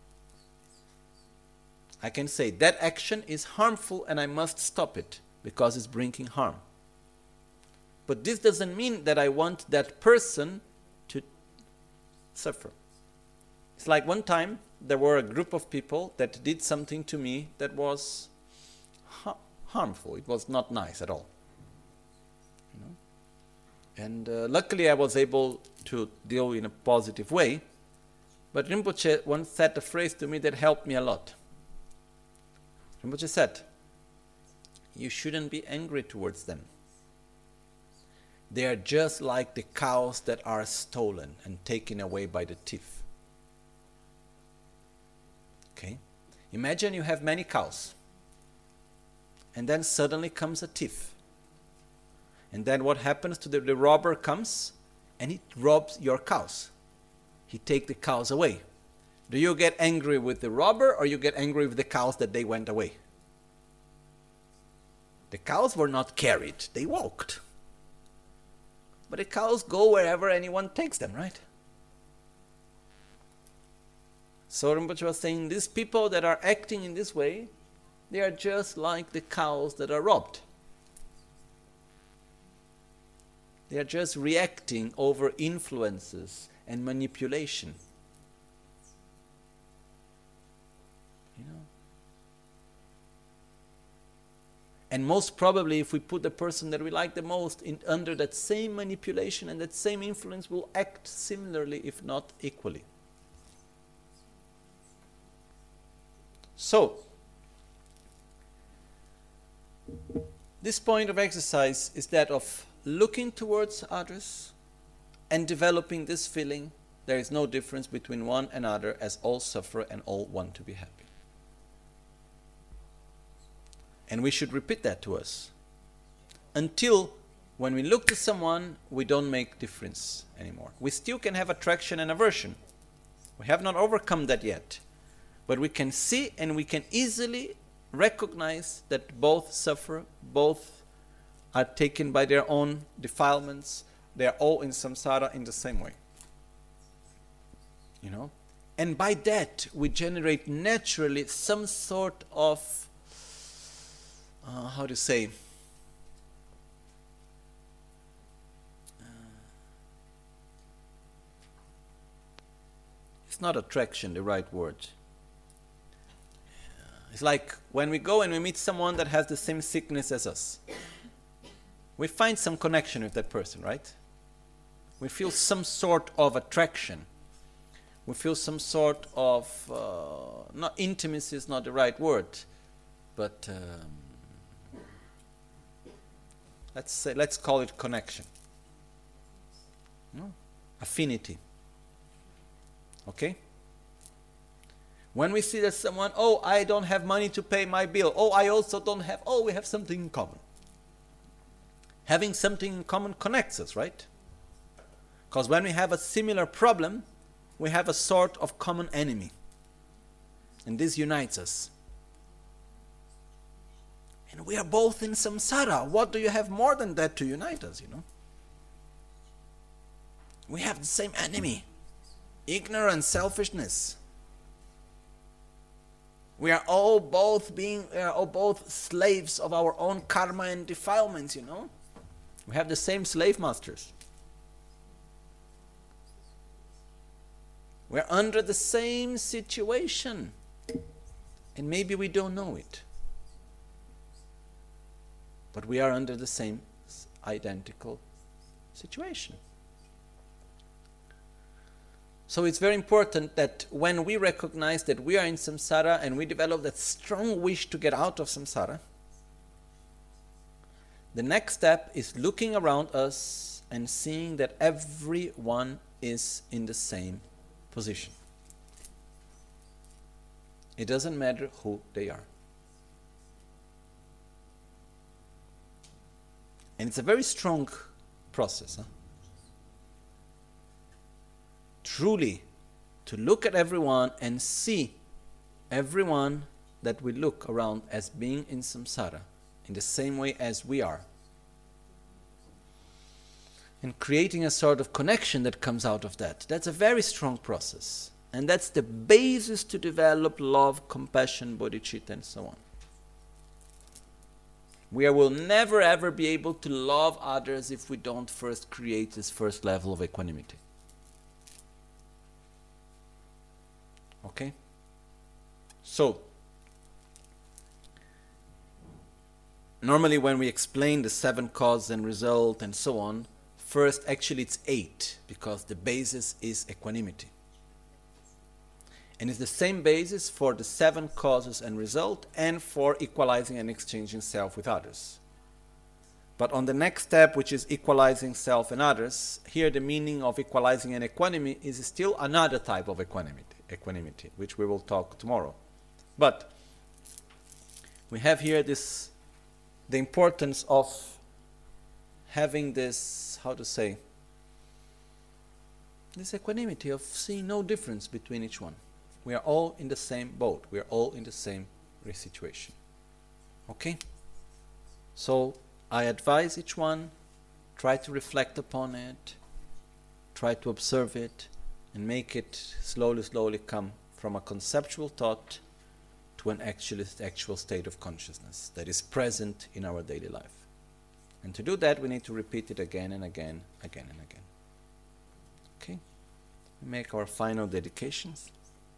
I can say that action is harmful and I must stop it because it's bringing harm. But this doesn't mean that I want that person to suffer. It's like one time there were a group of people that did something to me that was harmful. It was not nice at all. You know? And luckily I was able to deal in a positive way. But Rinpoche once said a phrase to me that helped me a lot. Rinpoche said, you shouldn't be angry towards them. They are just like the cows that are stolen and taken away by the thief. Okay? Imagine you have many cows. And then suddenly comes a thief. And then what happens to the robber comes and he robs your cows. He takes the cows away. Do you get angry with the robber or you get angry with the cows that they went away? The cows were not carried, they walked. But the cows go wherever anyone takes them, right? So Rinpoche was saying, these people that are acting in this way, they are just like the cows that are robbed. They are just reacting over influences and manipulation. You know? And most probably, if we put the person that we like the most under that same manipulation and that same influence, will act similarly, if not equally. So, this point of exercise is that of looking towards others and developing this feeling, there is no difference between one and another, as all suffer and all want to be happy. And we should repeat that to us. Until when we look to someone, we don't make difference anymore. We still can have attraction and aversion. We have not overcome that yet. But we can see and we can easily recognize that both suffer, both are taken by their own defilements, they are all in samsara in the same way. You know? And by that we generate naturally some sort of, how to say, it's not attraction, the right word. It's like when we go and we meet someone that has the same sickness as us. We find some connection with that person, right? We feel some sort of attraction. We feel some sort of, not intimacy is not the right word, but let's call it connection. No? Affinity. Okay? When we see that someone, oh, I don't have money to pay my bill. Oh, I also don't have, oh, we have something in common. Having something in common connects us, right? Because when we have a similar problem, we have a sort of common enemy. And this unites us. And we are both in samsara. What do you have more than that to unite us, you know? We have the same enemy. Ignorance, selfishness. We are all both slaves of our own karma and defilements, you know? We have the same slave masters. We're under the same situation. And maybe we don't know it. But we are under the same identical situation. So it's very important that when we recognize that we are in samsara and we develop that strong wish to get out of samsara, the next step is looking around us and seeing that everyone is in the same position. It doesn't matter who they are. And it's a very strong process. Truly, to look at everyone and see everyone that we look around as being in samsara, in the same way as we are. And creating a sort of connection that comes out of that. That's a very strong process. And that's the basis to develop love, compassion, bodhicitta, and so on. We will never ever be able to love others if we don't first create this first level of equanimity. Okay? So, normally when we explain the 7 causes and result and so on, first actually it's 8, because the basis is equanimity. And it's the same basis for the 7 causes and result and for equalizing and exchanging self with others. But on the next step, which is equalizing self and others, here the meaning of equalizing and equanimity is still another type of equanimity, which we will talk tomorrow. But we have here the importance of having this, how to say, this equanimity of seeing no difference between each one. We are all in the same boat. We are all in the same situation. Okay? So I advise each one, try to reflect upon it, try to observe it, and make it slowly come from a conceptual thought to an actual state of consciousness that is present in our daily life. And to do that, we need to repeat it again and again. Okay? We make our final dedications.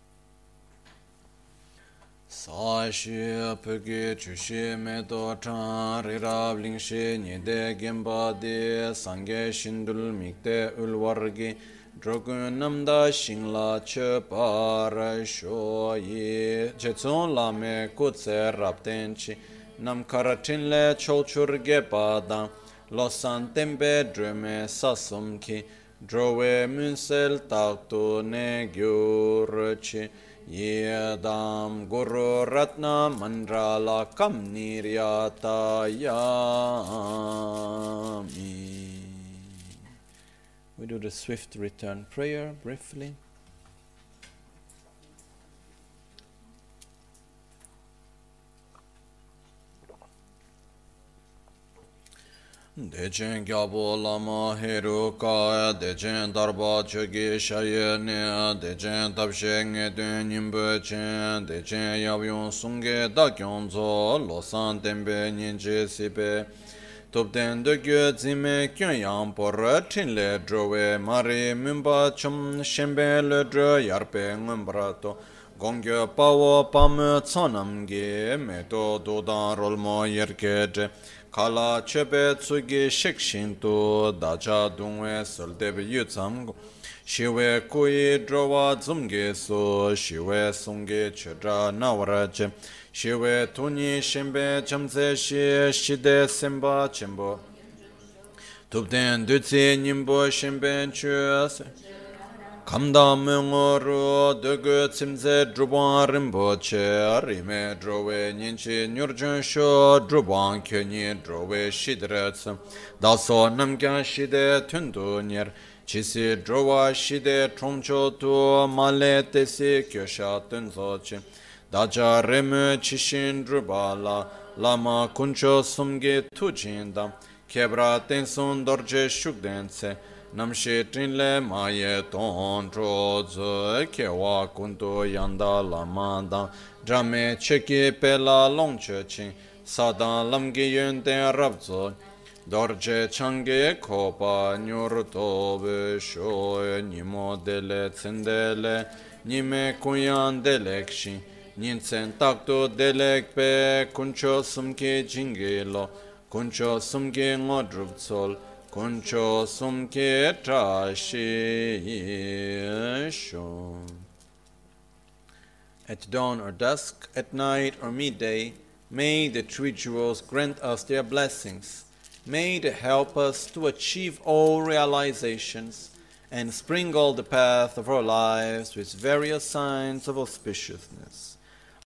Sa shi pege chu shi me do chan ri rab ling shi ni de gemba de sangye shindul mikde ulwargi drogun namda shingla che par sho yi jetson la me kutse rapten chi nam karatin le cholchur ge pada lo san tembe dreme sasum ki drowe munsel takto ne gyur chi Yedam Guru Ratna Mandrala Kam Niryatayami. We do the swift return prayer briefly. Dechen Gyabo Lama Heru Kaya, Dechen Darba Chogi Shayene, Dechen Tabsheng Edun Nimbe Chen, Dechen Yabyun Sunge Dakyonzo, Losan Tembe Ninje Sipe, Topden de Gyo Zime Kyonyang Por Chinle Drowe, Mari Mimba Chum Shembe Le Dro Yarpe Ngumbrato, Gongyo Pawo Pam Tsonamge, Meto Dodan Rolmo Yerkeje, Kala Chepe Tsugi Shikshinto, Dacha Dungwe Soldeb Yutsam, Shiwe Kui Drowa Zumge So, Shiwe Sunge Chedra Nawarache, Shiwe Tuni Shimbe Chamse Shi, Shide Simba Chimbo, Tupden Dutsi Nimbo Shimbe Chuase, Kamda Mungoro, Dugu Tsimze Druban Rimboche, Rime Drowe Ninchi Nurjun Sho, Druban Kyoni Drowe Shidrets, Daso Namgyan Shide Tundu Nyer, Chisi Drowa Shide Tromcho Tu, Male Tesi Kyosha Tunzoche, Daja Remu Chishin Drubala, Lama Kuncho Sumge Tujinda, Kebra Tensun Dorje Shugdense, Namshi Trinle Maye Ton Trozo, Kewa Kunto Yanda Lamanda, Drame Cheki Pela Longchechin, Sadan Lamgi Yunten Rabzo, Dorje Change Kopa Nyurtobe Shoe, Nimo Dele Tsendele, Nime Kunyan Delekshi, Ninsen Takto Delekpe, Kuncho Sumke Jingelo, Kuncho Sumke Ngodrubzol, Kuncho Sumke Trashi Shon. At dawn or dusk, at night or midday, may the three jewels grant us their blessings. May they help us to achieve all realizations and sprinkle the path of our lives with various signs of auspiciousness.